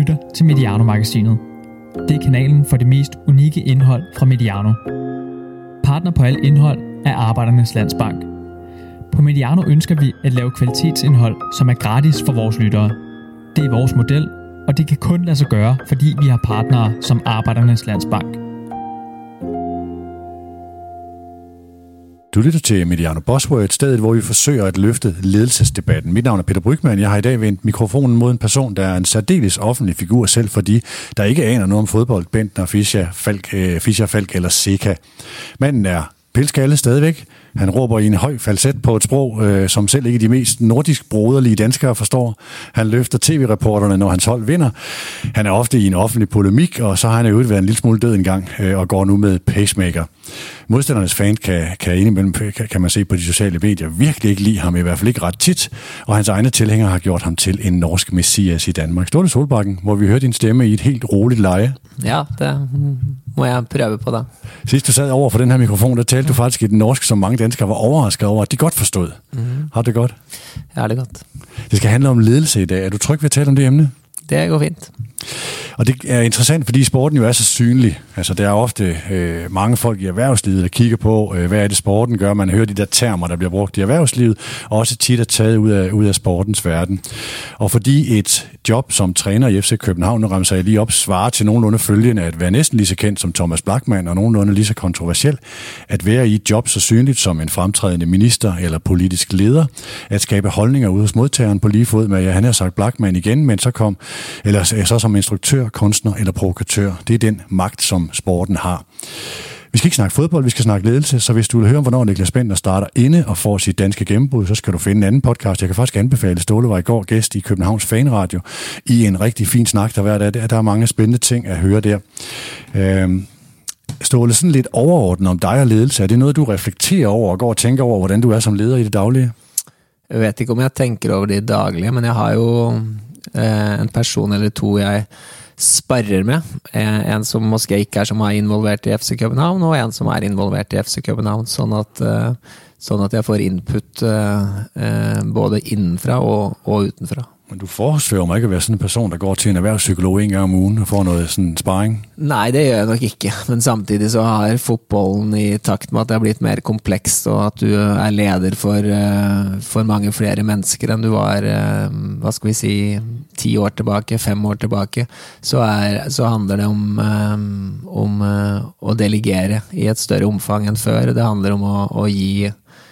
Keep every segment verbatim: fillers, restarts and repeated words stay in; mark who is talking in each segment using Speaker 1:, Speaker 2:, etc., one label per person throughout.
Speaker 1: lytter til Mediano-magasinet. Det er kanalen for det mest unikke indhold fra Mediano. Partner på alt indhold er Arbejdernes Landsbank. På Mediano ønsker vi at lave kvalitetsindhold, som er gratis for vores lyttere. Det er vores model, og det kan kun lade sig gøre, fordi vi har partnere som Arbejdernes Landsbank.
Speaker 2: Du lytter til Mediano Buzzword, stedet hvor vi forsøger at løfte ledelsesdebatten. Mit navn er Peter Brygmann. Jeg har i dag vendt mikrofonen mod en person, der er en særdeles offentlig figur, selv for de, der ikke aner noget om fodbold, Bentner, Fischer, Falk, øh, Fischer, Falk eller Seca. Manden er pilskalle stadigvæk. Han råber i en høj falset på et sprog, øh, som selv ikke de mest nordisk broderlige danskere forstår. Han løfter tv-reporterne, når hans hold vinder. Han er ofte i en offentlig polemik, og så har han jo været en lille smule død engang, øh, og går nu med pacemaker. Modstandernes fan kan, kan indimellem, kan, kan man se på de sociale medier, virkelig ikke lide ham, i hvert fald ikke ret tit, og hans egne tilhængere har gjort ham til en norsk messias i Danmark. Ståle Solbakken, hvor vi hørte din stemme i et helt roligt leje.
Speaker 3: Ja, det må jeg prøve på da.
Speaker 2: Sidst du sad over for den her mikrofon, der talte du faktisk i den norsk, som mange danskere var overrasket over, at de godt forstod. Mm-hmm. Har det godt?
Speaker 3: Ja, det er godt.
Speaker 2: Det skal handle om ledelse i dag. Er du tryg ved at tale om det emne?
Speaker 3: Det går fint.
Speaker 2: Og det er interessant, fordi sporten jo er så synlig. Altså, der er ofte øh, mange folk i erhvervslivet, der kigger på, øh, hvad er det sporten gør. Man hører de der termer, der bliver brugt i erhvervslivet, og også tit er taget ud af, ud af sportens verden. Og fordi et job som træner i F C København, nu rammer jeg lige op, svarer til nogenlunde følgende at være næsten lige så kendt som Thomas Blachmann, og nogenlunde lige så kontroversiel, at være i et job så synligt som en fremtrædende minister eller politisk leder, at skabe holdninger ude hos modtageren på lige fod med, ja, han har sagt Blachmann igen, men så kom, eller så som instruktør, kunstner eller provokatør. Det er den magt, som sporten har. Vi skal ikke snakke fodbold, vi skal snakke ledelse, så hvis du vil høre, hvornår Niklas Bentner starter inde og får sit danske gennembrud, så skal du finde en anden podcast. Jeg kan faktisk anbefale, Ståle var i går gæst i Københavns Fanradio i en rigtig fin snak, der hver dag. Der er mange spændende ting at høre der. Øhm, Ståle, sådan lidt overordnet om dig og ledelse. Er det noget, du reflekterer over og går og tænker over, hvordan du er som leder i det daglige?
Speaker 3: Jeg vet ikke, om jeg tænker over det daglige, men jeg har jo eh, en person eller to, jeg sparrer med. En som måske ikke er så meget involvert i F C København, og en som er involvert i F C København, sånn at, sånn at jeg får input både innenfra og, og utenfra.
Speaker 2: Men du foresfører mig ikke at være sådan en person, der går til en erhvervspsykolog en gang om ugen og får noget sådan sparring?
Speaker 3: Nej, det gør jeg nok ikke. Men samtidig så har fotbollen i takt med at det er blitt mer komplekst, og at du er leder for, for mange flere mennesker enn du var, hva skal vi si, ti år tilbake, fem år tilbake, så, er, så handler det om, om å delegere i et større omfang enn før. Det handler om å, å gi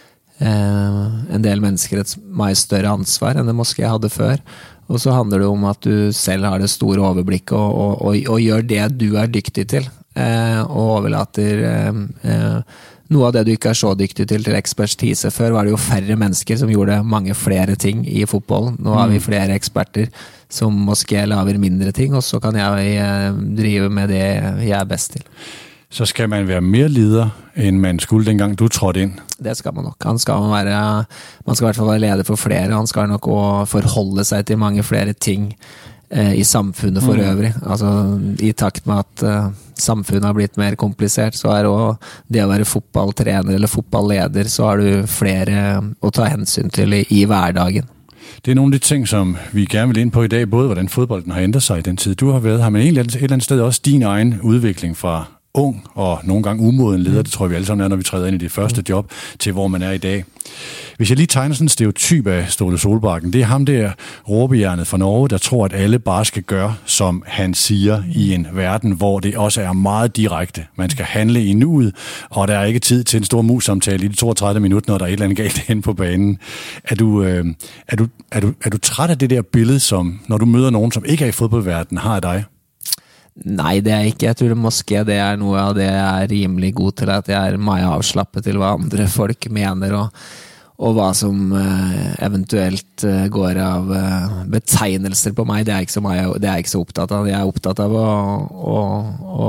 Speaker 3: en del mennesker et mye større ansvar enn det måske jeg hadde før, og så handler det om at du selv har det store overblikket og, og, og, og gjør det du er dyktig til, eh, og overlater eh, noe av det du ikke er så dyktig til til ekspertise. Før var det jo færre mennesker som gjorde mange flere ting i fotbollen. Nå har vi flere eksperter som måske laver mindre ting, og så kan jeg eh, drive med det jeg er best til.
Speaker 2: Så skal man være mere leder, end man skulle dengang du trådte ind?
Speaker 3: Det skal man nok. Han skal være, man skal i hvert fall være leder for flere, han skal nok også forholde sig til mange flere ting eh, i samfunnet for øvrig. Altså, i takt med at eh, samfunnet har blitt mer komplisert, så er også det å være fotballtrener eller fotballeder, så har du flere å ta hensyn til i, i hverdagen.
Speaker 2: Det er nogle af de ting, som vi gerne vil ind på i dag, både hvordan fodbolden har ændret sig i den tid, du har været her, men egentlig et eller andet sted også din egen udvikling fra ung og nogle gange umoden leder, det tror jeg vi alle sammen er, når vi træder ind i det første job, til hvor man er i dag. Hvis jeg lige tegner sådan en stereotyp af Ståle Solbakken, det er ham der råbehjernet fra Norge, der tror, at alle bare skal gøre, som han siger, i en verden, hvor det også er meget direkte. Man skal handle i nuet, og der er ikke tid til en stor mus-samtale i de toogtredive minutter, når der er et eller andet galt hen på banen. Er du, øh, er, du, er, du, er du træt af det der billede, som når du møder nogen, som ikke er i fodboldverdenen, har af dig?
Speaker 3: Nei, det er ikke. Jeg tror det måske det er noe av det jeg er rimelig god til, at jeg er meget avslappet til hva andre folk mener, og, og hva som uh, eventuelt uh, går av uh, betegnelser på meg. Det er ikke så, mye, det er ikke så opptatt av. Jeg er opptatt av å, å, å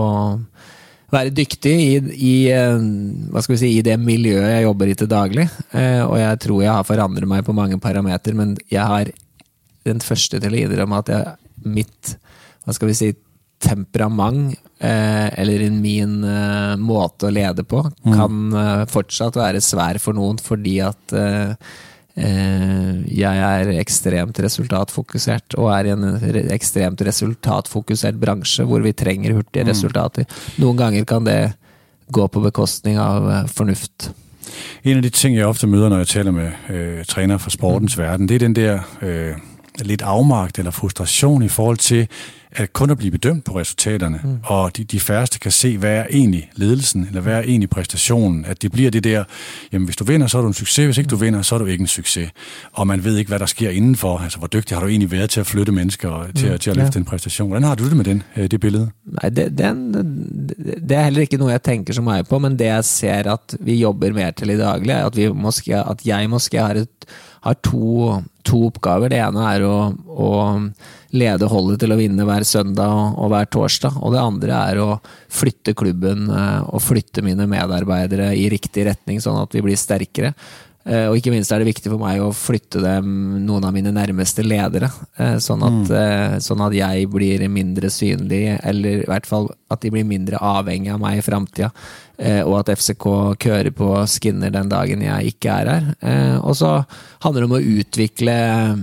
Speaker 3: være dyktig i, i, uh, hva skal vi si, i det miljøet jeg jobber i til daglig, uh, og jeg tror jeg har forandret meg på mange parameter, men jeg har den første til å innrømme at jeg, mitt, hva skal vi si, temperament eh, eller min eh, måte å lede på kan eh, fortsatt være svær for noen, fordi at eh, jeg er ekstremt resultatfokusert, og er i en ekstremt resultatfokusert bransje, hvor vi trenger hurtige resultater. Noen ganger kan det gå på bekostning av fornuft.
Speaker 2: En af de ting, jeg ofte møder, når jeg taler med øh, trænere fra sportens mm. verden, det er den der øh, lidt afmagt eller frustration i forhold til at kun at blive bedømt på resultaterne, mm. og de, de færreste kan se, hvad er egentlig ledelsen, eller hvad er egentlig præstationen, at det bliver det der, jamen hvis du vinder, så er du en succes, hvis ikke du vinder, så er du ikke en succes. Og man ved ikke, hvad der sker indenfor, altså hvor dygtig har du egentlig været til at flytte mennesker, og til, mm. til at løfte ja. en præstation. Hvordan har du det med den, det billede?
Speaker 3: Nej, det, den, det er heller ikke noe jeg tenker så meget på, men det jeg ser at vi jobber mer til i daglig, er at, vi måske, at jeg måske har, et, har to, to oppgaver. Det ene er å, å lede holdet til å vinne hver søndag og, og hver torsdag, og det andre er å flytte klubben og flytte mine medarbeidere i riktig retning, sånn at vi blir sterkere. Og ikke minst er det viktig for meg å flytte dem, noen av mine nærmeste ledere, sånn at, mm. sånn at jeg blir mindre synlig, eller i hvert fall at de blir mindre avhengig av meg i fremtiden, og at F C K kører på skinner den dagen jeg ikke er her. Og så handler det om å utvikle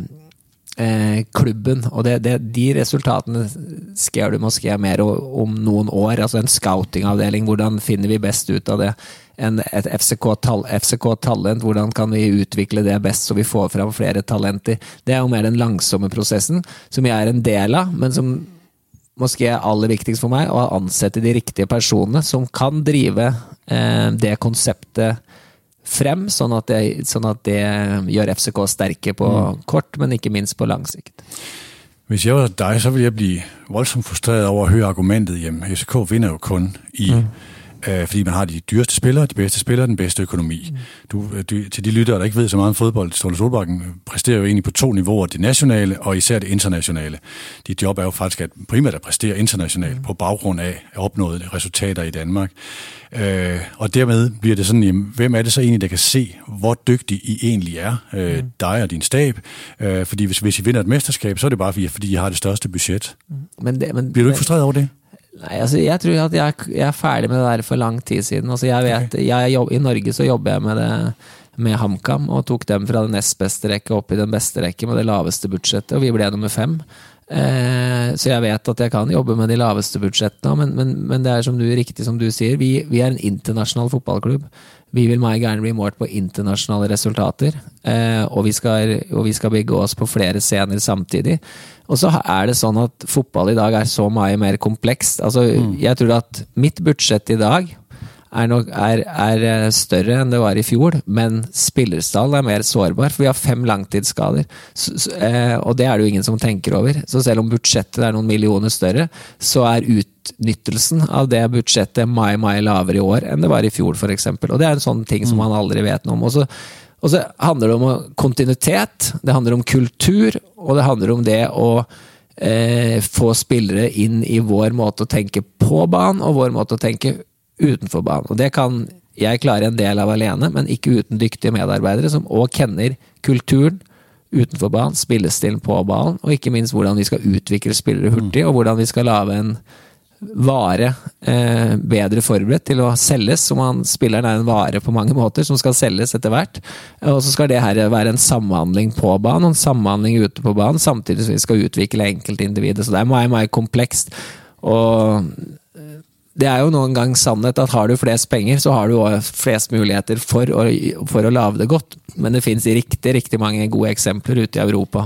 Speaker 3: Eh, klubben, og det, det, de resultatene skal du måske mer om noen år, altså en scouting-avdeling, hvordan finner vi best ut av det, en, et F C K-talent, hvordan kan vi utvikle det best så vi får fram flere talenter. Det er jo mer den langsomme prosessen, som jeg er en del av, men som måske er aller viktigst for meg, å ansette de riktige personene som kan drive eh, det konseptet frem, sånn at, det, sånn at det gjør F C K sterke på mm. kort, men ikke minst på lang sikt.
Speaker 2: Hvis jeg var dig, så ville jeg blive voldsomt frustreret over at høre argumentet, jamen F C K vinder jo kun i, mm. øh, fordi man har de dyreste spillere, de bedste spillere, den bedste økonomi. Mm. Du, du, til de lyttere, der ikke ved så meget om fodbold, Ståle Solbakken præsterer jo egentlig på to niveauer, det nationale og især det internationale. Dit job er jo faktisk at primært at præstere internationalt mm. på baggrund af opnåede resultater i Danmark. Øh, og dermed bliver det sådan, jamen, hvem er det så egentlig, der kan se, hvor dygtig I egentlig er, øh, mm. dig og din stab? Øh, fordi hvis, hvis I vinder et mesterskab, så er det bare fordi, fordi I har det største budget. Men det, men, bliver du ikke frustreret over det?
Speaker 3: Nej, altså jeg tror at jeg, jeg er færdig med det der for lang tid siden. Altså jeg vet, okay. jeg jobb, i Norge så jobber jeg med det med HamKam, og tok dem fra den nest beste rekke opp i den beste rekke med det laveste budsjettet, og vi ble nummer fem. Eh, så jeg vet at jeg kan jobbe med de laveste budsjettene, men, men, men det er som du, riktig som du sier, vi, vi er en internasjonal fotballklubb. Vi vil meget gerne bli målt på internasjonale resultater, eh, og, vi skal, og vi skal bygge oss på flere scener samtidig. Og så er det sånn at fotball i dag er så mye mer komplekst. Altså, mm. jeg tror at mitt budsjett i dag er, nok, er, er større enn det var i fjor, men spillerstallen er mer sårbar, for vi har fem langtidsskader, så, så, eh, og det er det jo ingen som tenker over. Så selv om budsjettet er noen millioner større, så er utnyttelsen av det budsjettet mye, mye lavere i år enn det var i fjor, for eksempel. Og det er en sånn ting som man aldri vet noe om. Og så, og så handler det om kontinuitet, det handler om kultur, og det handler om det å eh, få spillere inn i vår måte å tenke på banen, og vår måte å tenke utenfor banen. Og det kan jeg klare en del av alene, men ikke uten dyktige medarbeidere som også kenner kulturen utenfor banen, spillestilen på banen, og ikke minst hvordan vi skal utvikle spillere hurtig, og hvordan vi skal lave en vare eh, bedre forberedt til å selges, som han, spilleren er en vare på mange måter, som skal selges etter hvert, og så skal det her være en samhandling på banen, og en samhandling ute på banen, samtidig som vi skal utvikle enkeltindividet, så det er mye, mye komplekst, og det er jo noen gang sannhet at har du flest penger, så har du også flest muligheter for å, for å lave det godt, men det finnes riktig, riktig mange gode eksempler ute i Europa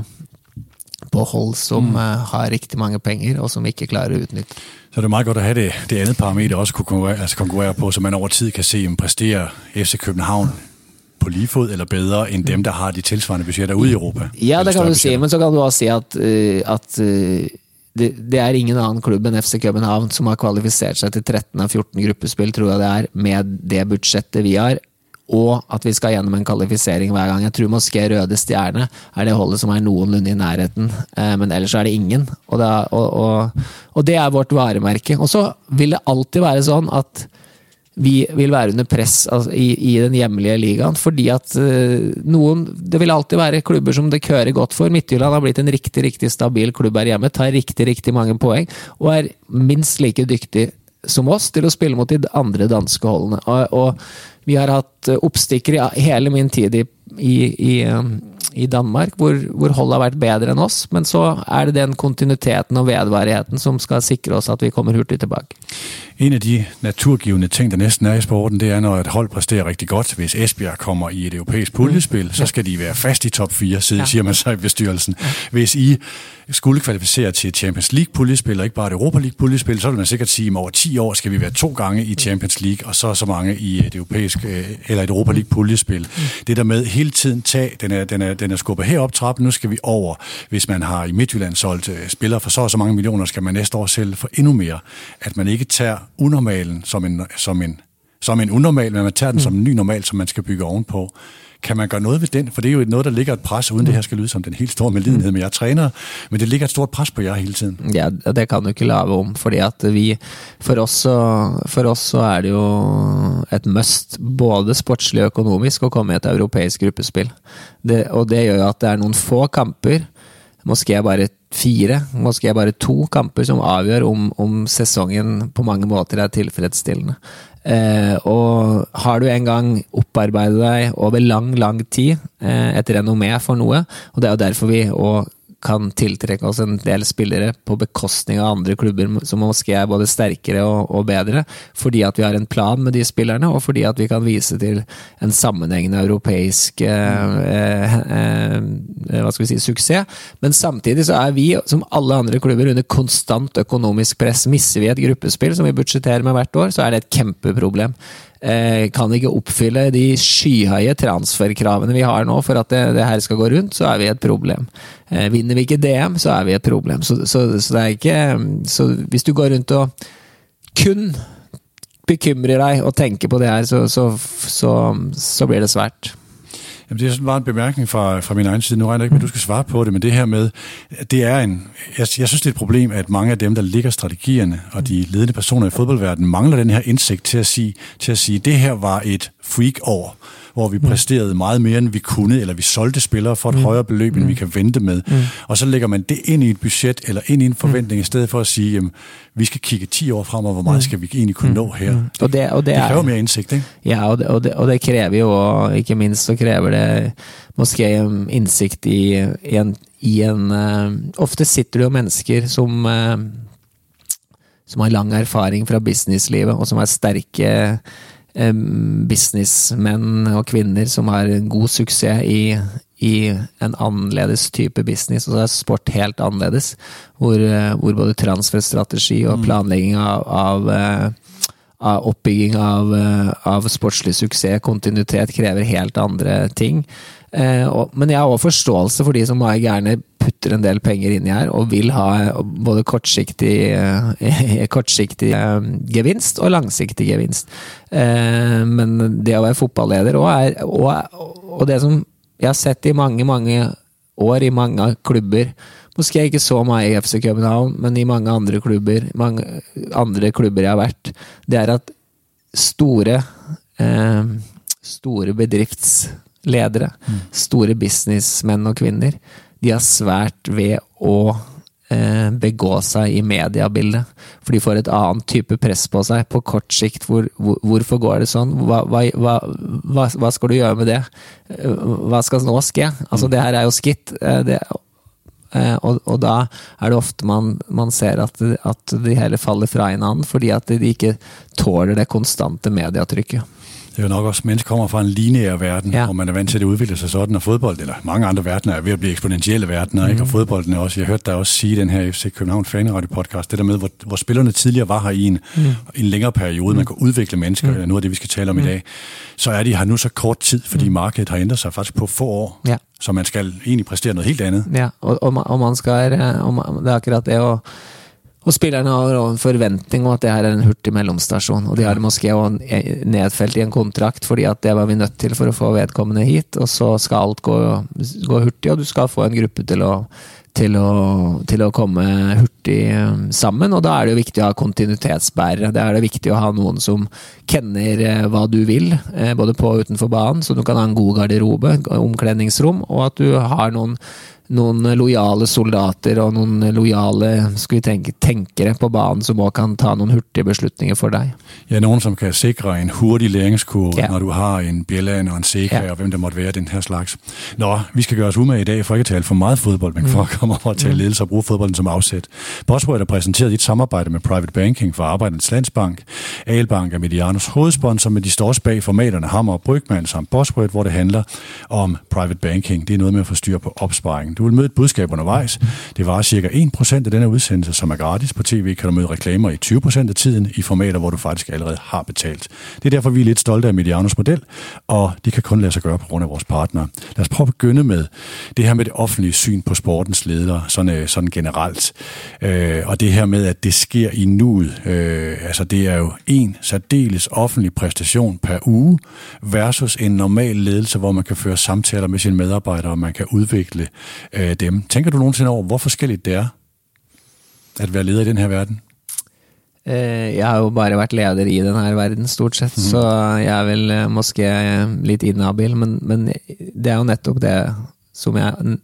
Speaker 3: på hold som mm. uh, har riktig mange penger, og som ikke klarer å utnytte.
Speaker 2: Så det er meget godt at have det, det andet parameter også kunne konkurrere, altså konkurrere på, så man over tid kan se, om præsterer F C København på lige fod eller bedre end dem, der har de tilsvarende budgetter ude i Europa.
Speaker 3: Ja, det kan du se, men så kan du også se at, uh, at uh, det, det er ingen annen klubb enn F C København som har kvalifisert seg til tretten av fjorten gruppespill, tror jeg det er, med det budsjettet vi har, og at vi skal gjennom en kvalifisering hver gang. Jeg tror måske Røde Stjerne er det holdet som er noenlunde i nærheten, men ellers er det ingen. Og det er, og, og, og det er vårt varemerke. Og så vil det alltid være sånn at vi vil være under press altså, i, i den hjemlige ligaen, fordi at uh, noen, det vil alltid være klubber som det kører godt for. Midtjylland har blitt en riktig, riktig stabil klubb her hjemme, tar riktig, riktig mange poeng, og er minst like dyktig som oss til å spille mot de andre danske holdene. Og, og vi har hatt oppstikker i hele min tid i i, i, i Danmark, hvor, hvor holdet har vært bedre enn oss, men så er det den kontinuiteten og vedvarigheten som skal sikre oss at vi kommer hurtigt tilbake.
Speaker 2: En af de naturgivende ting, der næsten er i sporten, det er, når et hold præsterer rigtig godt. Hvis Esbjerg kommer i et europæisk puljespil, så skal de være fast i top fire, siger man så i bestyrelsen. Hvis I skulle kvalificere til et Champions League puljespil, og ikke bare et Europa League puljespil, så vil man sikkert sige, at om over ti år skal vi være to gange i Champions League, og så så mange i et europæisk eller et Europa League puljespil. Det der med hele tiden tag, den er, den er, den er skubbet herop trappen, nu skal vi over. Hvis man har i Midtjylland solgt spillere for så og så mange millioner, skal man næste år sælge for endnu mere. At man ikke tager unormalen som en, som en, som en unormal, men man tager den mm. som en ny normal, som man skal bygge ovenpå. Kan man gøre noget ved den? For det er jo noget, der ligger et pres, uden mm. det her skal lyde som den helt store medlidenhed med jer træner, men det ligger et stort pres på jer hele tiden.
Speaker 3: Ja, det kan du ikke lave om, fordi at vi, for oss så, for oss så er det jo et must, både sportslig og økonomisk, å komme i et europeisk gruppespill. Det, og det gjør jo at det er noen få kamper, måske bare fire, måske bare to kamper som avgjør om, om sesongen på mange måter er tilfredsstillende. Eh, og har du en gang opparbeidet deg over lang, lang tid eh, et renommé for noe, og det er jo derfor vi og kan tiltrekke oss en del spillere på bekostning av andre klubber som måske er både sterkere og, og bedre, fordi at vi har en plan med de spillerne, og fordi at vi kan vise til en sammenhengende europeisk eh, eh, eh, hva skal vi si, suksess. Men samtidig så er vi, som alle andre klubber, under konstant økonomisk press. Misser vi et gruppespill som vi budsjetterer med hvert år, så er det et kjempeproblem. Eh, kan ikke oppfylle de skyhøye transferkravene vi har nå for at det, det her skal gå rundt, så er vi et problem. Eh, vinner vi ikke D M, så er vi et problem. Så, så, så det er ikke så hvis du går rundt og kun bekymrer deg og tenker på det her, så, så, så, så blir det svært.
Speaker 2: Jamen, det er sådan bare en bemærkning fra, fra min egen side. Nu regner jeg ikke med, at du skal svare på det, men det her med, det er en, jeg, jeg synes, det er et problem, at mange af dem, der ligger strategierne, og de ledende personer i fodboldverdenen, mangler den her indsigt til at sige, til at sige, det her var et freak-år, hvor vi præsterede meget mere, end vi kunne, eller vi solgte spillere for et mm. højere beløb, end mm. vi kan vente med. Mm. Og så lægger man det ind i et budget, eller ind i en forventning, mm. i stedet for at sige, jamen, vi skal kigge ti år frem, og hvor meget skal vi egentlig kunne mm. nå her? Mm. Og det, og det, det kræver mere indsigt, ikke?
Speaker 3: Ja, og det, og det, og det kræver jo, og ikke minst så kræver det måske indsigt i, i en, i en uh, ofte sitter det jo mennesker som uh, som har lang erfaring fra businesslivet, og som er sterke businessmenn og kvinner som har en god suksess i, i en annerledes type business, og så er sport helt annerledes, hvor, hvor både transferstrategi og planlegging av, av, av oppbygging av, av sportslig suksess, kontinuitet, krever helt andre ting. Eh, og, men jeg har også forståelse for de som har gjerne putter en del penger inn i her, og vil ha både kortsiktig, eh, kortsiktig eh, gevinst og langsiktig gevinst. Eh, men det å være fotballeder også er, og, og det som jeg har sett i mange, mange år i mange klubber, måske ikke så mye i F C København, men i mange andre klubber, mange andre klubber jeg har vært, det er at store, eh, store bedrifts ledere, mm. store businessmenn og kvinner, de har svært ved å eh, begå seg i mediebildet, for de får et annet type press på seg på kort sikt. Hvor, hvor, hvorfor går det sånn? Hva, hva, hva, hva skal du gjøre med det? Hva skal nå skje? Altså, det her er jo skitt. Det, eh, og, og da er det ofte man, man ser at, at de heller faller fra en annen, fordi at de ikke tåler det konstante medietrykket.
Speaker 2: Det er jo nok også, at mennesker kommer fra en lineær verden, ja. Hvor man er vant til at det udvikler sig sådan, og fodbold, eller mange andre verdener er ved at blive eksponentielle verdener, mm. ikke? Og fodbolden er også, jeg hørte dig også sige den her F C København Fanradio podcast, det der med, hvor, hvor spillerne tidligere var her i en, mm. en længere periode, mm. man kan udvikle mennesker, mm. eller noget af det, vi skal tale om mm. i dag, så er de her nu så kort tid, fordi mm. markedet har ændret sig faktisk på få år, ja. Så man skal egentlig præstere noget helt andet. Ja,
Speaker 3: og, og, man, og man skal, og man, det er akkurat det, og Og spillerne har en forventning om at det her er en hurtig mellomstasjon, og de har måske også nedfelt i en kontrakt, fordi at det var vi nødt til for å få vedkommende hit, og så skal alt gå, gå hurtig, og du skal få en gruppe til å, til å, til å komme hurtig sammen, og da er det jo viktig å ha kontinuitetsbærere. Det er det viktig å ha noen som kenner hva du vil, både på og utenfor banen, så du kan ha en god garderobe, omkledningsrom, og at du har noen noen lojale soldater og noen lojale skal vi tenke, tenkere på banen som også kan ta noen hurtige beslutninger for deg.
Speaker 2: Ja, nogen som kan sikre en hurtig læringskurve,
Speaker 3: ja.
Speaker 2: når du har en Bjelland og en Seka, ja. Og hvem der måtte være den her slags. Nå, vi skal gøre os umage i dag, for ikke at tale for meget fodbold, men for at komme over og tale ledelse og bruge fodbolden som afsæt. Bosworth er præsenteret i et samarbejde med Private Banking for Arbejdernes Landsbank. Albank er Medianos hovedsponsor, med de står også bag formaterne Hammer og Brygman samt Bosworth, hvor det handler om Private Banking. Det er noget med at få styr på opsparingen. Du vil møde et budskab undervejs. Det var cirka en procent af denne udsendelse, som er gratis. På tv kan du møde reklamer i tyve procent af tiden i formater, hvor du faktisk allerede har betalt. Det er derfor, vi er lidt stolte af Medianos model, og det kan kun lade sig gøre på grund af vores partnere. Lad os prøve at begynde med det her med det offentlige syn på sportens ledere, sådan, sådan generelt. Øh, og det her med, at det sker i nuet. Øh, altså, det er jo en særdeles offentlig præstation per uge versus en normal ledelse, hvor man kan føre samtaler med sine medarbejdere, og man kan udvikle øh, dem. Tænker du nogensinde over, hvor forskelligt det er at være leder i den her verden?
Speaker 3: Jeg har jo bare vært leder i den her verden stort sett, mm. så jeg er vel måske litt inhabil, men, men det er jo nettopp det som jeg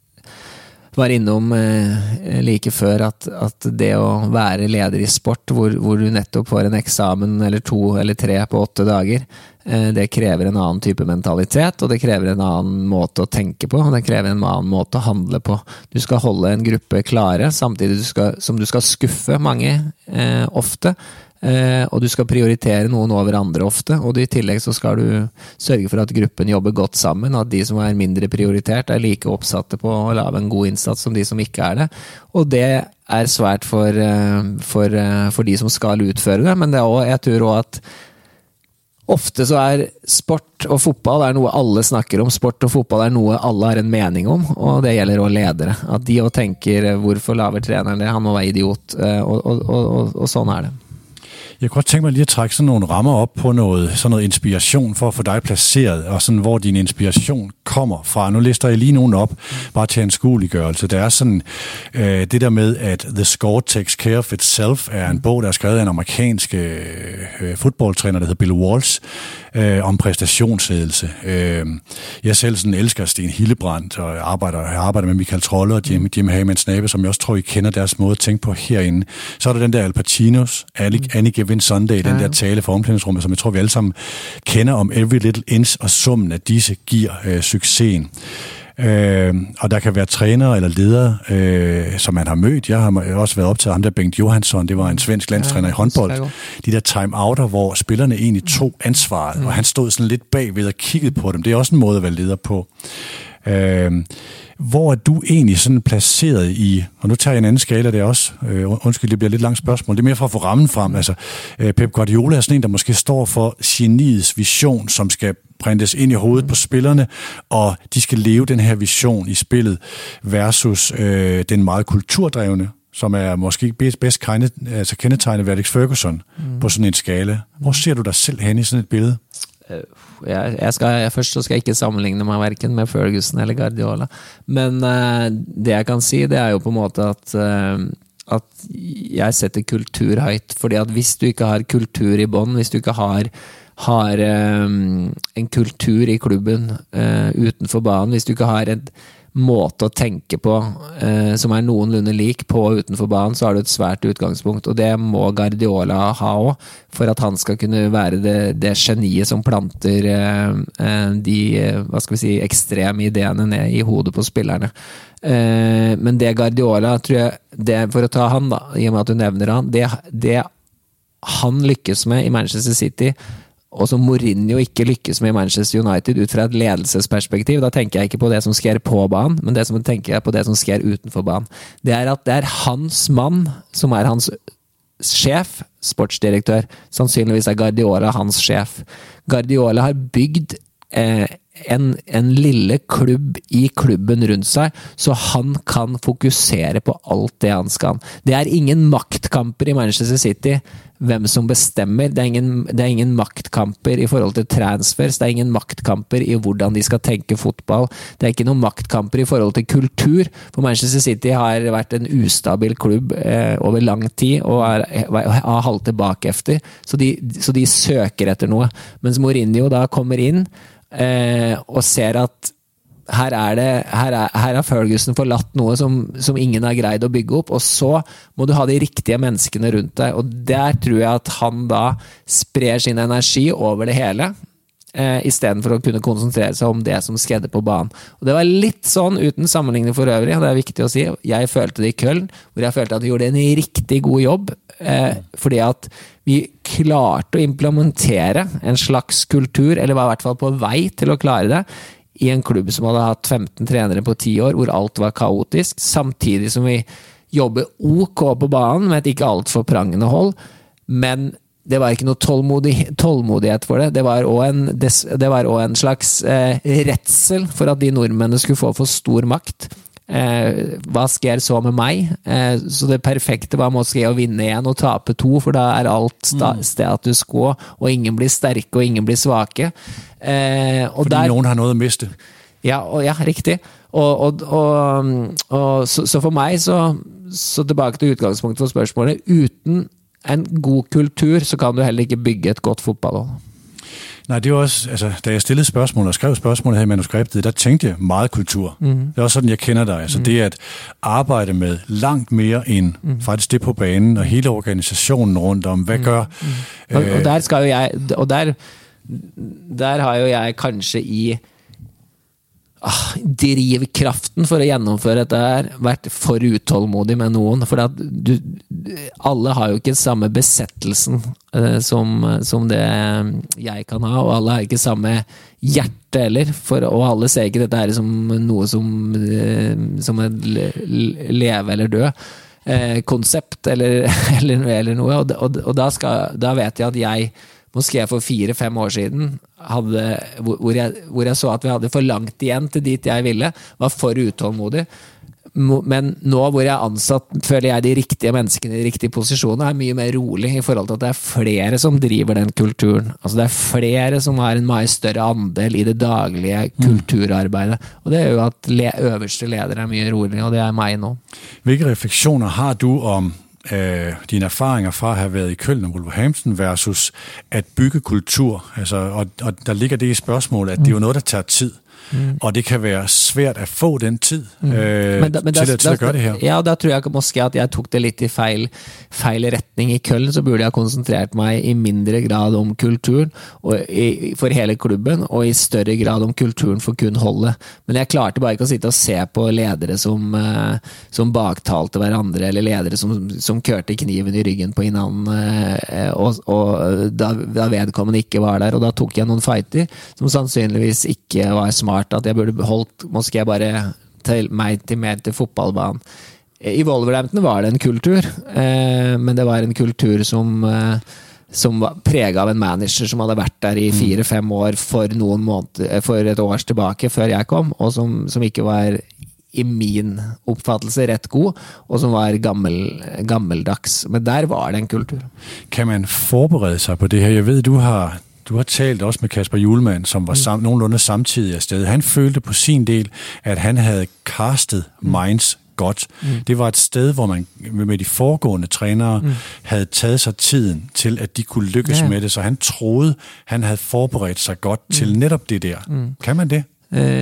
Speaker 3: var innom like før, at, at det å være leder i sport, hvor, hvor du nettopp får en eksamen eller to eller tre på åtte dager, det krever en annen type mentalitet, og det krever en annen måte å tenke på, og det krever en annen måte å handle på. Du skal holde en gruppe klare, samtidig du skal, som du skal skuffe mange eh, ofte, eh, og du skal prioritere noen over andre ofte, og i tillegg så skal du sørge for at gruppen jobber godt sammen, at de som er mindre prioritert er like oppsatte på å lave en god innsats som de som ikke er det, og det er svært for, for, for de som skal utføre det, men det er også, jeg tror også at ofte så er sport og fotball er noe alle snakker om. Sport og fotball er noe alle har en mening om, og det gjelder også ledere. At de også tenker, hvorfor laver treneren det? Han må være idiot, og, og, og, og sånn er det.
Speaker 2: Jeg kunne godt tænke mig lige at trække sådan nogle rammer op på noget, sådan noget inspiration for at få dig placeret, og sådan hvor din inspiration kommer fra. Nu lister jeg lige nogen op, bare til en skueliggørelse. Der er sådan øh, det der med, at The Score Takes Care of Itself er en bog, der er skrevet af en amerikansk øh, fodboldtræner, der hedder Bill Walsh, øh, om præstationsledelse. Øh, jeg selv sådan elsker Sten Hildebrandt, og jeg arbejder, jeg arbejder med Michael Trolle og Jim, Jim Hagemann Snabe, som jeg også tror, I kender deres måde at tænke på herinde. Så er der den der Al Pacinos, Any Given Sunday, den der tale for omklædningsrummet, som jeg tror, vi alle sammen kender om every little inch, og summen af disse giver øh, succesen. Øh, og der kan være trænere eller ledere, øh, som man har mødt. Jeg har også været optaget af ham der Bengt Johansson, det var en svensk landstræner i håndbold. De der time-outer, hvor spillerne egentlig tog ansvaret, mm. og han stod sådan lidt bagved og kiggede på dem. Det er også en måde at være leder på. Øh, hvor er du egentlig sådan placeret i, og nu tager jeg en anden skala der også, øh, undskyld, det bliver lidt langt spørgsmål, det er mere for at få rammen frem, altså øh, Pep Guardiola er sådan en, der måske står for geniets vision, som skal printes ind i hovedet på spillerne, og de skal leve den her vision i spillet, versus øh, den meget kulturdrevne, som er måske bedst, bedst kende, altså kendetegnet ved Alex Ferguson mm. på sådan en skala. Hvor ser du dig selv hen i sådan et billede?
Speaker 3: Jeg, jeg skal, jeg, først så skal jeg ikke sammenligne meg hverken med Ferguson eller Guardiola, men uh, det jeg kan si, det er jo på en måte at, uh, at jeg setter kultur høyt, fordi at hvis du ikke har kultur i bånd, hvis du ikke har, har um, en kultur i klubben uh, utenfor banen, hvis du ikke har et måte å tenke på eh, som er noenlunde lik på og utenfor banen, så har du et svært utgangspunkt, og det må Guardiola ha også, for at han skal kunne være det, det geniet som planter eh, de, hva skal vi si, ekstreme ideene ned i hodet på spillerne. Eh, men det Guardiola, tror jeg, det, for å ta han da, i og med at du nevner han, det, det han lykkes med i Manchester City, og som Mourinho ikke lykkes med i Manchester United ut fra et ledelsesperspektiv, da tenker jeg ikke på det som sker på banen, men det som tenker jeg på det som sker utenfor banen. Det er at det er hans mann som er hans sjef, sportsdirektør. Sannsynligvis er Guardiola hans sjef. Guardiola har bygd eh, en, en lille klubb i klubben rundt seg, så han kan fokusere på alt det han skal. Det er ingen maktkamper i Manchester City, hvem som bestemmer. Det er, ingen, det er ingen maktkamper i forhold til transfers, det er ingen maktkamper i hvordan de skal tenke fotball, det er ikke noen maktkamper i forhold til kultur, for Manchester City har vært en ustabil klubb eh, over lang tid, og er, har halvt tilbake efter, så de, så de søker etter noe. Mens Mourinho da kommer inn, eh, og ser at her er det, her er, her har Ferguson forlatt noe som, som ingen har greid å bygge opp, og så må du ha de riktige menneskene rundt deg, og der tror jeg at han da sprer sin energi over det hele, Eh, i stedet for å kunne konsentrere seg om det som skjedde på banen. Og det var litt sånn, uten sammenligning for øvrig, og det er viktig å si, jeg følte det i Köln, hvor jeg følte at vi gjorde en riktig god jobb, eh, fordi at vi klarte å implementere en slags kultur, eller var i hvert fall på vei til å klare det, i en klubb som hadde hatt femten trenere på ti år, hvor alt var kaotisk, samtidig som vi jobber ok på banen, med et ikke alt for prangende hold, men det var ikke noe tålmodig, tålmodighet for det. Det var også en, det var også en slags eh, redsel for at de nordmennene skulle få for stor makt. Eh, hva sker så med meg? Eh, så det perfekte var måske å vinne igjen og tape to, for da er alt sta, status quo, og ingen blir sterke, og ingen blir svake. Eh, og
Speaker 2: Fordi
Speaker 3: der,
Speaker 2: noen har noe å miste.
Speaker 3: Ja, og, ja riktig. Og, og, og, og så, så for meg, så, så tilbake til utgangspunktet for spørsmålet, uten en god kultur, så kan du heller ikke bygge et godt fodboldhold.
Speaker 2: Nej, det er også, altså, da jeg stillede spørgsmål og skrev spørgsmålet her i manuskriptet, der tænkte jeg meget kultur. Mm. Det er også sådan, jeg kender dig. Altså mm. det at arbejde med langt mere end mm. faktisk det på banen, og hele organisationen rundt om, hvad mm. gør...
Speaker 3: Mm. Og, og der skal jo jeg, og der, der har jo jeg kanskje i Ah, drivkraften for å gjennomføre dette her vært for utålmodig med noen, for at du, alle har jo ikke samme besettelsen eh, som, som det jeg kan ha, og alle har ikke samme hjerte heller, for, og alle ser ikke dette her som noe som, eh, som en leve eller dø eh, konsept eller, eller, eller noe, og, og, og da, skal, da vet jeg at jeg måske for fire-fem år siden hadde, hvor, jeg, hvor jeg så at vi hadde for langt igjen til dit jeg ville, var for utålmodig. Men nå hvor jeg er ansatt, føler jeg de riktige menneskene i de riktige posisjonene, er mye mer rolig i forhold til at det er flere som driver den kulturen. Altså det er flere som har en mye større andel i det daglige kulturarbeidet. Og det er jo at le, øverste leder er mye rolig, og det er meg nå.
Speaker 2: Hvilke refleksjoner har du om Øh, dine erfaringer fra at have været i Köln og Wolverhampton versus at bygge kultur, altså, og, og der ligger det i spørgsmålet, at det er jo noget, der tager tid, mm. og det kan være svært at få den tid mm. øh,
Speaker 3: men da, men
Speaker 2: til,
Speaker 3: da,
Speaker 2: at, til at gøre det her.
Speaker 3: Ja, og da tror jeg måske at jeg tok det litt i feil, feil retning. I Köln så burde jeg konsentrert meg i mindre grad om kulturen og i, for hele klubben, og i større grad om kulturen for kun holdet. Men jeg klarte bare ikke å sitte og se på ledere som, uh, som baktalte hverandre, eller ledere som, som kørte kniven i ryggen på hinanden, uh, og, og da, da vedkommende ikke var der, og da tok jeg noen fighter som sannsynligvis ikke var smart, at jeg burde holdt, måske bare til meg til mer til fotballbanen. I Wolverhampton var det en kultur, eh, men det var en kultur som, eh, som var preget av en manager som hadde vært der i fire-fem år for noen måneder, for et års tilbake før jeg kom, og som, som ikke var i min oppfattelse rett god, og som var gammel, gammeldags. Men der var det en kultur.
Speaker 2: Kan man forberede sig på det her? Jeg ved, du har... Du har talt også med Kasper Hjulmand, som var sam- nogenlunde samtidig af sted. Han følte på sin del, at han havde castet Mainz godt. Mm. Det var et sted, hvor man med de foregående trænere mm. havde taget sig tiden til, at de kunne lykkes ja. med det. Så han troede, han havde forberedt sig godt mm. til netop det der. Mm. Kan man det?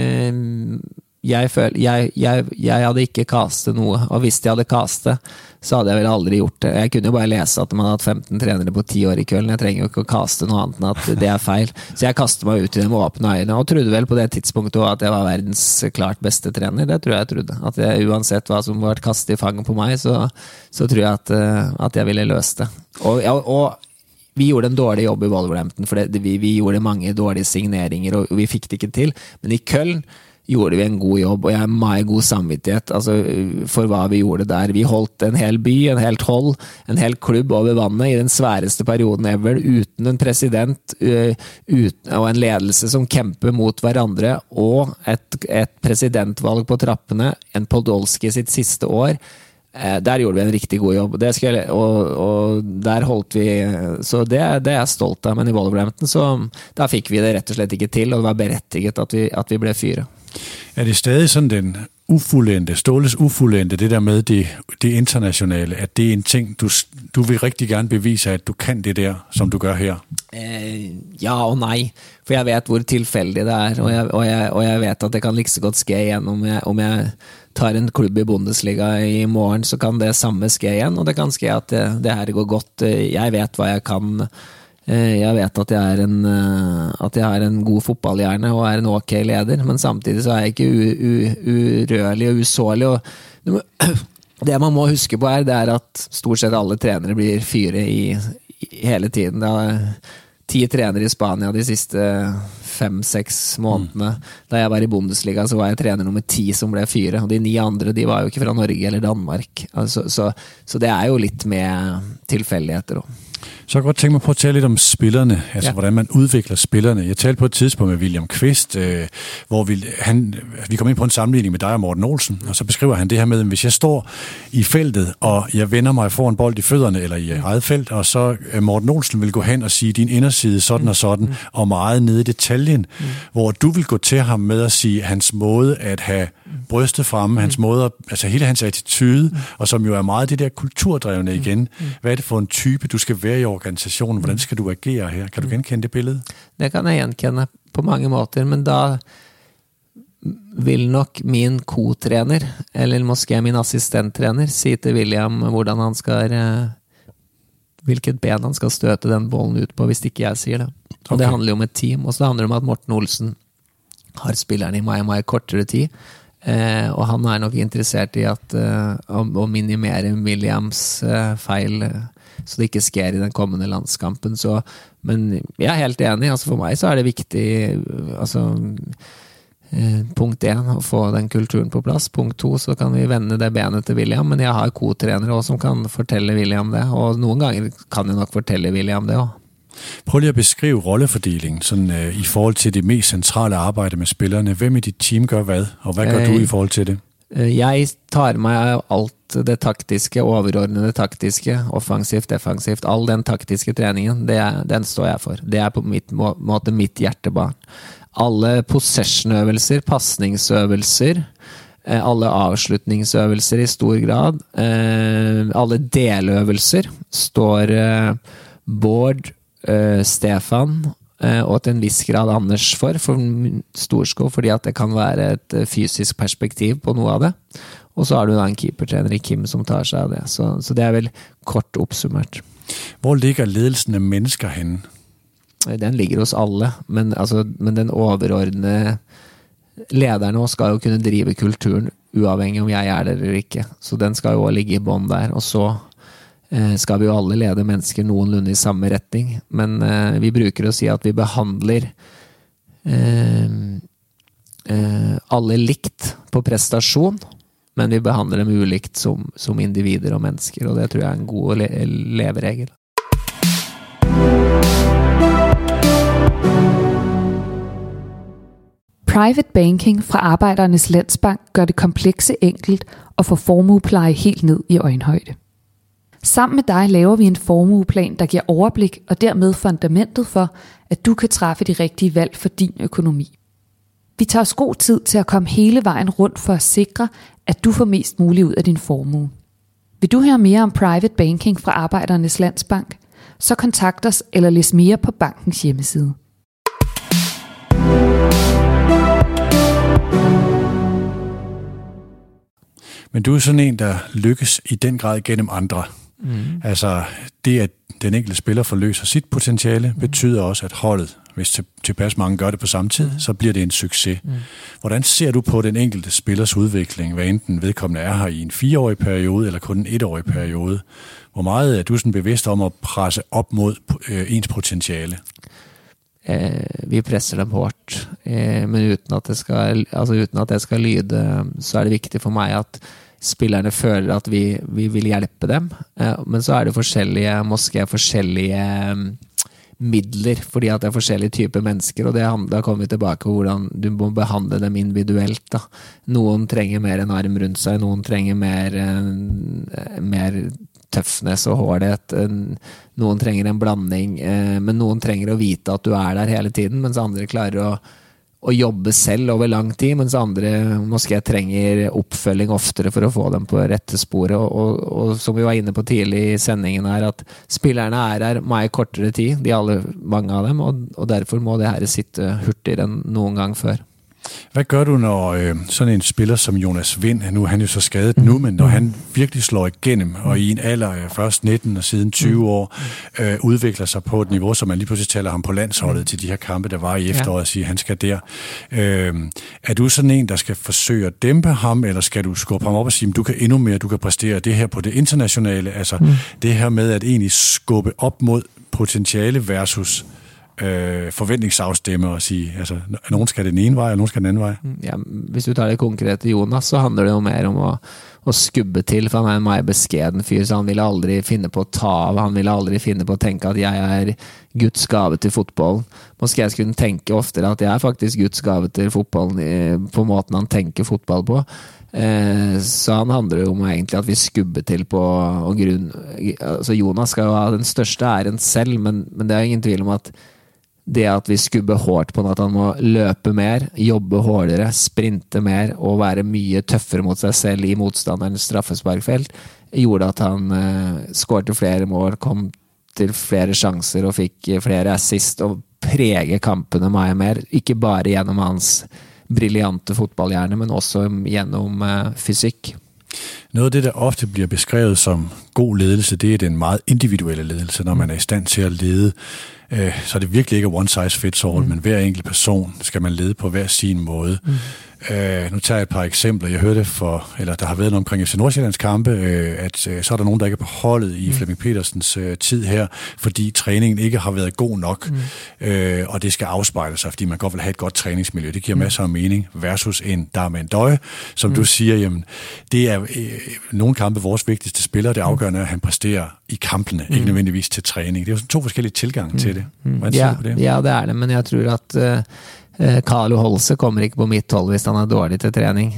Speaker 3: Øh, jeg, føl, jeg, jeg, jeg hadde ikke kastet noe, og hvis jeg hadde kastet, så hadde jeg vel aldri gjort det. Jeg kunne jo bare lese at man hadde hatt femten trenere på ti år i Köln. Jeg trenger jo ikke å kaste noe annet enn at det er feil. Så jeg kastet meg ut i det med åpne øyne, og trodde vel på det tidspunktet at jeg var verdens klart beste trener. Det tror jeg jeg trodde. At jeg, uansett hva som var kastet i fangen på meg, så, så tror jeg at, at jeg ville løse det. Og, og vi gjorde en dårlig jobb i Wolverhampton, for det, vi, vi gjorde mange dårlige signeringer, og vi fikk det ikke til. Men i Köln gjorde vi en god jobb, og jeg har meget god samvittighet altså, for hva vi gjorde der. Vi holdt en hel by, en helt hold, en hel klubb over vannet i den sværeste perioden ever, uten en president uh, uten, og en ledelse som kjemper mot hverandre, og et, et presidentvalg på trappene, en Podolski sitt siste år. Uh, der gjorde vi en riktig god jobb, det skal jeg, og, og der holdt vi, så det, det er jeg stolt av, men i Wolverhampton, så da fikk vi det rett og slett ikke til, og det var berettiget at vi, at vi ble fyret.
Speaker 2: Er det stadig sådan den ufuldendte, Ståles ufuldendte, det der med det, det internationale, at det er en ting, du, du vil rigtig gerne bevise, at du kan det der, som du gør her?
Speaker 3: Eh, ja og nei, for jeg vet hvor tilfeldig det er, og jeg, og jeg, og jeg vet at det kan like så godt ske igjen om jeg, om jeg tar en klubb i Bundesliga i morgen, så kan det samme ske igjen, og det kan ske at det, det her går godt. Jeg vet hva jeg kan. Jeg vet at jeg er en, at jeg er en god fotballhjerne og er en ok leder, men samtidig så er jeg ikke u, u, urørlig og usårlig. Og det man må huske på er, det er at stort sett alle trenere blir fyre i, i hele tiden. Det er ti trenere i Spania de siste fem-seks månedene. Da jeg var i Bundesliga så var jeg trener nummer ti som ble fyre, og de ni andre de var jo ikke fra Norge eller Danmark. Altså, så, så det er jo litt med tilfeldigheter også.
Speaker 2: Så jeg kan godt tænke mig på at tale lidt om spillerne, altså ja. Hvordan man udvikler spillerne. Jeg talte på et tidspunkt med William Kvist, øh, hvor vi, han, vi kom ind på en sammenligning med dig og Morten Olsen, og så beskriver han det her med, at hvis jeg står i feltet, og jeg vender mig for en bold i fødderne, eller i eget felt, og så Morten Olsen vil gå hen og sige, din inderside sådan og sådan, og meget nede i detaljen, mm. hvor du vil gå til ham med at sige, hans måde at have brystet fremme, hans måde, altså hele hans attitude, og som jo er meget det der kulturdrevne igen. Hvad er det for en type, du skal være i organisationen? Hvordan skal du agere her? Kan du genkende det billede?
Speaker 3: Det kan jeg genkende på mange måter, men da vil nok min co-trener, eller måske min assistenttrener, si til William hvordan han skal, hvilket ben han skal støte den bollen ut på, hvis ikke jeg sier det. Og okay. Det handler jo om et team, og så handler det om at Morten Olsen har spillerne i mye, mye kortere tid, eh, og han er nok interessert i at, eh, å, å minimere Williams eh, feil, eh, så det ikke sker i den kommende landskampen. Så, men jeg er helt enig, altså for meg så er det viktig, altså, eh, punkt én, å få den kulturen på plass. Punkt to, så kan vi vende det benet til William, men jeg har co-trenere også som kan fortelle William det, og noen ganger kan jeg nok fortelle William det også.
Speaker 2: Prøv lige at beskrive rollefordelingen sådan, øh, i forhold til det mest centrale arbejde med spillerne. Hvem i dit team gør hvad, og hvad gør øh, du i forhold til det?
Speaker 3: Jeg tar meg av alt det taktiske, overordnede taktiske, offensivt, defensivt, all den taktiske treningen, det er, den står jeg for. Det er på mitt må, måte mitt hjertebarn. Alle possession-øvelser, passningsøvelser, alle avslutningsøvelser i stor grad, alle deløvelser står Bård, Uh, Stefan uh, og til en viss grad Anders for, for Storskov, fordi at det kan være et uh, fysisk perspektiv på noe av det. Og så har du da en keepertrener i Kim som tar seg av det. Så, så det er vel kort oppsummert.
Speaker 2: Hvor ligger ledelsen av mennesker henne?
Speaker 3: Den ligger hos alle, men, altså, men den overordnede lederen også skal jo kunne drive kulturen uavhengig om jeg er der eller ikke. Så den skal jo også ligge i bånd der, og så skal vi jo alle lede mennesker noenlunde i samme retning, men eh, vi bruker å si at vi behandler eh, eh, alle likt på prestasjon, men vi behandler dem ulikt som, som individer og mennesker, og det tror jeg er en god le leveregel.
Speaker 4: Private banking fra Arbejdernes Landsbank gør det komplekse enkelt og får formuepleje helt ned i øjenhøjde. Sammen med dig laver vi en formueplan, der giver overblik og dermed fundamentet for, at du kan træffe de rigtige valg for din økonomi. Vi tager os god tid til at komme hele vejen rundt for at sikre, at du får mest muligt ud af din formue. Vil du høre mere om private banking fra Arbejdernes Landsbank? Så kontakt os eller læs mere på bankens hjemmeside.
Speaker 2: Men du er sådan en, der lykkes i den grad gennem andre. Mm. Altså det, at den enkelte spiller forløser sit potentiale, mm. betyder også, at holdet, hvis tilpas mange gør det på samme tid, mm. så bliver det en succes. Mm. Hvordan ser du på den enkelte spillers udvikling, hvad enten vedkommende er her i en fireårig periode, eller kun en etårig periode? Hvor meget er du sådan bevidst om at presse op mod øh, ens potentiale?
Speaker 3: Eh, vi presser dem hårdt, eh, men uten at, det skal, altså uten at det skal lyde, så er det viktig for meg at spillerne føler at vi, vi vil hjelpe dem, eh, men så er det forskjellige, måske forskjellige midler, fordi at det er forskjellige typer mennesker, og det, da kommer vi tilbake på hvordan du må behandle dem individuelt. Da. Noen trenger mer en arm rundt seg, noen trenger mer, mer tøffness og hårdhet, noen trenger en blanding, men noen trenger å vite at du er der hele tiden, mens andre klarer å, å jobbe selv over lang tid, mens andre måske trenger oppfølging oftere for å få dem på rette sporet, og, og, og som vi var inne på tidlig i sendingen her, at spillerne er her mye kortere tid, de alle, mange av dem, og, og derfor må det her sitte hurtigere enn noen gang før.
Speaker 2: Hvad gør du, når øh, sådan en spiller som Jonas Vind, nu er han jo så skadet nu, men når han virkelig slår igennem, og i en alder af først nitten og siden tyve år, øh, udvikler sig på et niveau, så man lige pludselig taler ham på landsholdet til de her kampe, der var i efteråret, og siger, han skal der. Øh, er du sådan en, der skal forsøge at dæmpe ham, eller skal du skubbe ham op og sige, du kan endnu mere, du kan præstere det her på det internationale, altså mm. det her med at egentlig skubbe op mod potentiale versus Øh, forventningsafstemme og sige, altså, nogen skal den ene vej, og nogen skal den anden vej.
Speaker 3: Ja, hvis du tager det konkrete Jonas, så handler det jo mer om å, å skubbe til, for han er en meget beskeden fyr, så han ville aldri finne på å ta av, han ville aldri finne på å tenke at jeg er Guds gave til fotballen. Måske jeg skulle tenke oftere at jeg er faktisk Guds gave til fotballen på måten han tenker fotball på. Eh, så han handler jo om egentlig at vi skubber til på og grunn, altså Jonas skal jo ha den største æren selv, men, men det er ingen tvil om at det at vi skubber hårdt på at han må løpe mer, jobbe hårdere, sprinte mer og være mye tøffere mot seg selv i motstanderens straffesparkfelt, gjorde at han eh, skårte flere mål, kom til flere sjanser og fikk flere assist og prege kampene mye mer, ikke bare gjennom hans briljante fotballhjerne, men også gjennom eh, fysik.
Speaker 2: Noget af det, der ofte bliver beskrevet som god ledelse, det er den meget individuelle ledelse, når man er i stand til at lede. Øh, så er det virkelig ikke one size fits all, mm. men hver enkelt person skal man lede på hver sin måde. Mm. Øh, nu tager jeg et par eksempler. Jeg hørte for, eller der har været noget omkring F C Nordsjællands kampe, øh, at øh, så er der nogen, der ikke er på holdet i mm. Flemming Petersens øh, tid her, fordi træningen ikke har været god nok, mm. øh, og det skal afspejle sig, fordi man godt vil have et godt træningsmiljø. Det giver mm. masser af mening, versus en Darmen Døje, som mm. du siger, jamen, det er øh, nogle kampe vores vigtigste spillere, det afgørende er, at han præsterer i kampene, mm. ikke nødvendigvis til træning. Det er jo sådan to forskellige tilgange mm. til det.
Speaker 3: Mm. Ja, det? ja, det er det, men jeg tror at uh... Carlo Holse kommer ikke på mitt hold hvis han er dårlig til trening.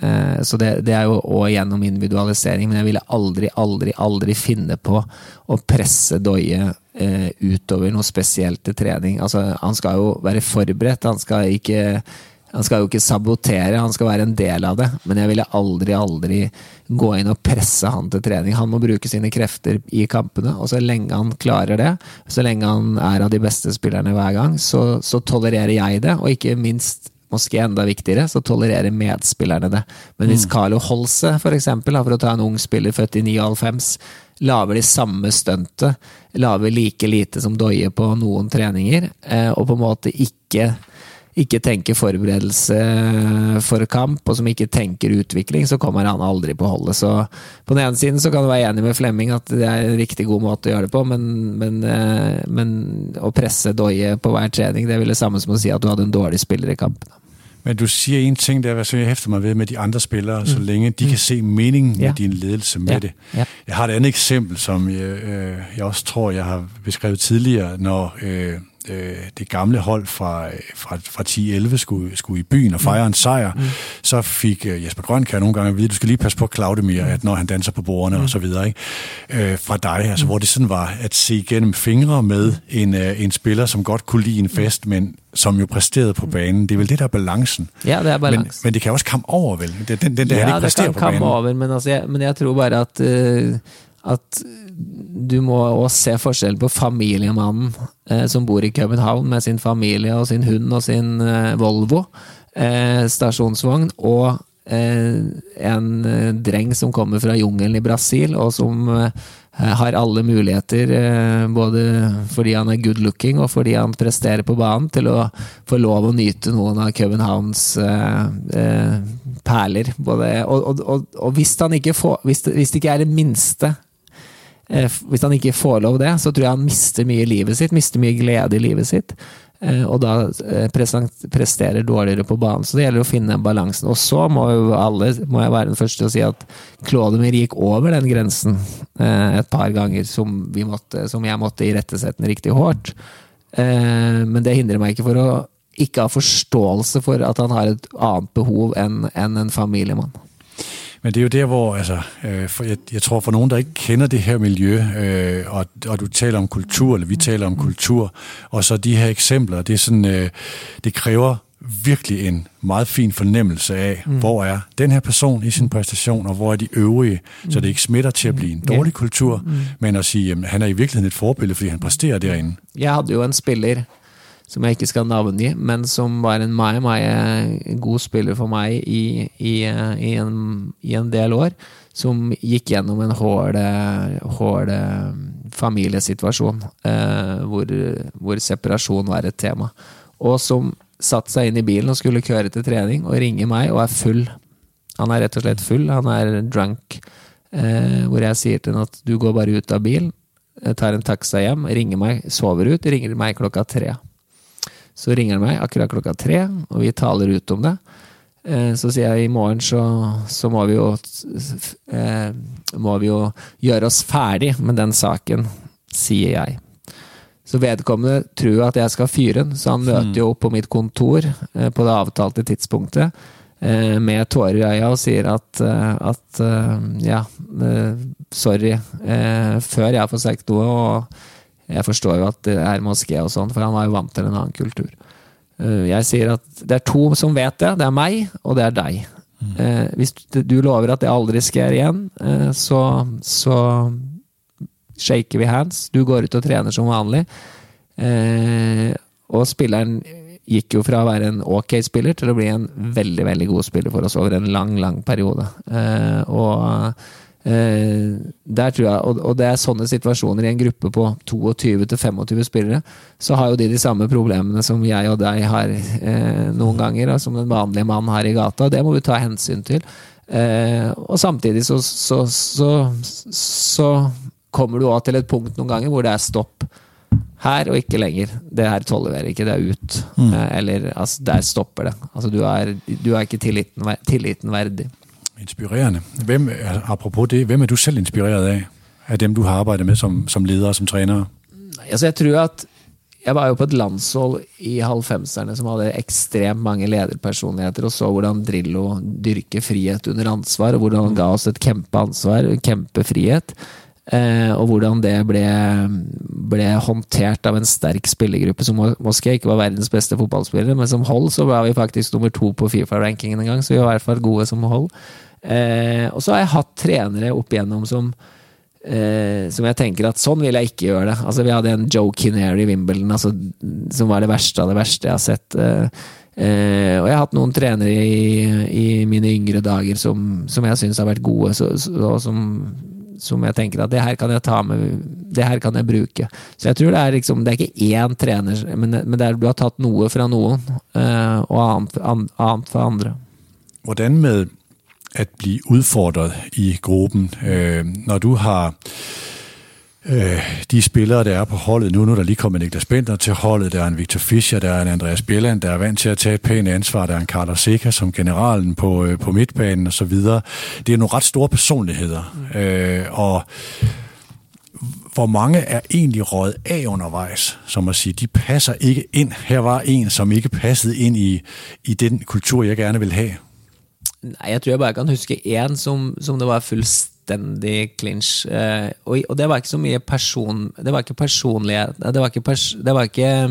Speaker 3: Så det, det er jo også gjennom individualisering, men jeg ville aldri, aldri, aldri finne på å presse Døye utover noe spesielt til trening. Altså, han skal jo være forberedt, han skal ikke... Han skal jo ikke sabotere, han skal være en del av det, men jeg ville aldri, aldri gå inn og presse han til trening. Han må bruke sine krefter i kampene, og så lenge han klarer det, så lenge han er av de beste spillerne hver gang, så, så tolererer jeg det, og ikke minst, måske enda viktigere, så tolererer medspillerne det. Men hvis Carlo Holse, for eksempel, for å ta en ung spiller født i nioghalvfems, laver de samme stuntet, laver like lite som Døye på noen treninger, og på en måte ikke ikke tenker forberedelse for kamp, og som ikke tenker utvikling, så kommer han aldri på holdet. Så på den ene siden så kan du være enig med Flemming at det er en riktig god måte å gjøre det på, men, men, men å presse Døye på hver trening, det er vel det samme som å si at du hadde en dårlig spiller i kampen.
Speaker 2: Men du siger en ting, der er, jeg hæfter mig ved med de andre spillere, mm. så længe de mm. kan se meningen med ja. din ledelse med ja. det. Ja. Jeg har et andet eksempel, som jeg, øh, jeg også tror, jeg har beskrevet tidligere, når øh, øh, det gamle hold fra, fra, fra ti elleve skulle, skulle i byen og fejre en sejr, mm. så fik øh, Jesper Grønkjær nogle gange at vide, du skal lige passe på Claudemir, at når han danser på bordene mm. og så videre, ikke? Øh, fra dig, altså, mm. hvor det sådan var at se igennem fingre med en, øh, en spiller, som godt kunne lide en fest, men som jo præsterede på banen. Det er vel det, der er balancen.
Speaker 3: Ja, det er balansen.
Speaker 2: Men, men det kan også komme over, vel? Den, den, den der
Speaker 3: ja,
Speaker 2: han ikke præsterer på banen. Ja, det kan komme over,
Speaker 3: men, altså, jeg, men jeg tror bare at, uh, at du må også se forskjell på familiemannen uh, som bor i København med sin familie og sin hund og sin uh, Volvo uh, stasjonsvogn, og uh, en uh, dreng som kommer fra jungelen i Brasil, og som uh, har alle muligheter, både fordi han er good looking og fordi han presterer på banen, til å få lov å nyte noen av Københavns eh, eh, perler. Både, og, og, og, og hvis han ikke får, hvis det, hvis det ikke er det minste, eh, hvis han ikke får lov det, så tror jeg han mister mye i livet sitt, mister mye glede i livet sitt, eh, og da eh, presterer dårligere på banen. Så det gjelder å finne balansen. Og så må jo alle, må jeg være den første til å si at Claudemir gikk over den grensen eh, et par ganger som, vi måtte, som jeg måtte irettesette riktig hårdt. Eh, men det hindrer meg ikke for å ikke ha forståelse for at han har et annet behov enn, enn en familiemann.
Speaker 2: Men det er jo der, hvor altså, øh, for jeg, jeg tror for nogen, der ikke kender det her miljø, øh, og, og du taler om kultur, eller vi taler om kultur, og så de her eksempler, det er sådan, øh, det kræver virkelig en meget fin fornemmelse af, mm. hvor er den her person i sin præstation, og hvor er de øvrige, mm. så det ikke smitter til at blive en dårlig kultur, mm. men at sige, jamen, han er i virkeligheden et forbillede, fordi han præsterer derinde.
Speaker 3: Jeg havde jo en spiller, som jeg ikke skal navngi, men som var en meget, meget god spiller for mig i, i, i, en, i en del år, som gik gjennom en hård, hård familiesituation, eh, hvor, hvor separasjon var et tema, og som satt seg inn i bilen og skulle køre til trening og ringer meg og er full. Han er rett og slett full, han er drunk, eh, hvor jeg sier til ham at du går bare ut av bilen, tar en taxa hjem, ringer meg, sover ut, ringer meg klokka tre. Så ringer han meg akkurat klokka tre, og vi taler ut om det. Eh, så sier jeg i morgen så, så må vi jo eh, må vi jo gjøre oss ferdig med den saken, sier jeg. Så vedkommende tror at jeg skal fyre den, så han møter jo opp på mitt kontor eh, på det avtalte tidspunktet eh, med tårer i øya og sier at, eh, at eh, ja, eh, sorry, eh, før jeg får sagt noe, og jeg forstår jo at det er moské og sånn, for han var jo vant til en annen kultur. Eh, jeg sier at det er to som vet det, det er meg, og det er deg. Mm. Eh, hvis du lover at det aldri skjer igjen, eh, så... så shaker vi hands, du går ut og trener som vanlig, eh, og spilleren gikk jo fra å være en ok spiller til å bli en veldig, veldig god spiller for oss over en lang, lang periode. Eh, og eh, der tror jeg, og, og det er sånne situasjoner i en gruppe på tjueto til tjuefem spillere, så har jo de de samme problemene som jeg og deg har eh, noen ganger, og som den vanlige mann har i gata, og det må vi ta hensyn til. Eh, og samtidig så, så, så, så, så kommer du også til et punkt noen ganger hvor det er stopp her og ikke lenger. Det her tolererer ikke, det er ut. Mm. Eller, altså, der stopper det. Altså, du er, du er ikke tilliten, tilliten verdig.
Speaker 2: Inspirerende. Hvem, apropos det, hvem er du selv inspireret af? Af dem, du har arbejdet med som, som leder, som træner?
Speaker 3: Altså, jeg tror at jeg var jo på et landshold i halvfemserne som hadde ekstremt mange lederpersonligheter, og så hvordan Drillo dyrker frihet under ansvar, og hvordan han ga oss et kjempeansvar, kjempefrihet. Eh, og hvordan det ble, ble håndtert av en sterk spillergruppe som måske ikke var verdens beste fotballspillere, men som hold så var vi faktisk nummer to på FIFA-rankingen en gang, så vi var i hvert fall gode som hold. Eh, og så har jeg hatt trenere opp igjennom som, eh, som jeg tenker at sånn vil jeg ikke gjøre det. Altså vi hadde en Joe Kinnear i Wimbledon, altså, som var det verste av det verste jeg har sett. Eh, eh, og jeg har hatt noen trenere i, i mine yngre dager som, som jeg synes har vært gode, så, så, og som som jeg tenker at det her kan jeg ta med, det her kan jeg bruke. Så jeg tror det er liksom, det er ikke én trener, men, men det er, du har tatt noe fra noen, øh, og annet, an, annet fra andre.
Speaker 2: Hvordan med at blive udfordret i gruppen, øh, når du har øh, de spillere, der er på holdet nu, nu er der lige kommet Niklas Bentner til holdet, der er en Victor Fischer, der er en Andreas Bjelland, der er vant til at tage et pænt ansvar, der er en Carlos Seca som generalen på, øh, på midtbanen og så videre. Det er nogle ret store personligheder, øh, og hvor mange er egentlig røget af undervejs, som at sige, de passer ikke ind. Her var en, som ikke passede ind i, i den kultur, jeg gerne vil have.
Speaker 3: Nej, jeg tror jeg bare kan huske en, som, som det var fuldstændig clinch, uh, og, og det var ikke så mye person, det var ikke personlighet, det var ikke, pers, det var ikke,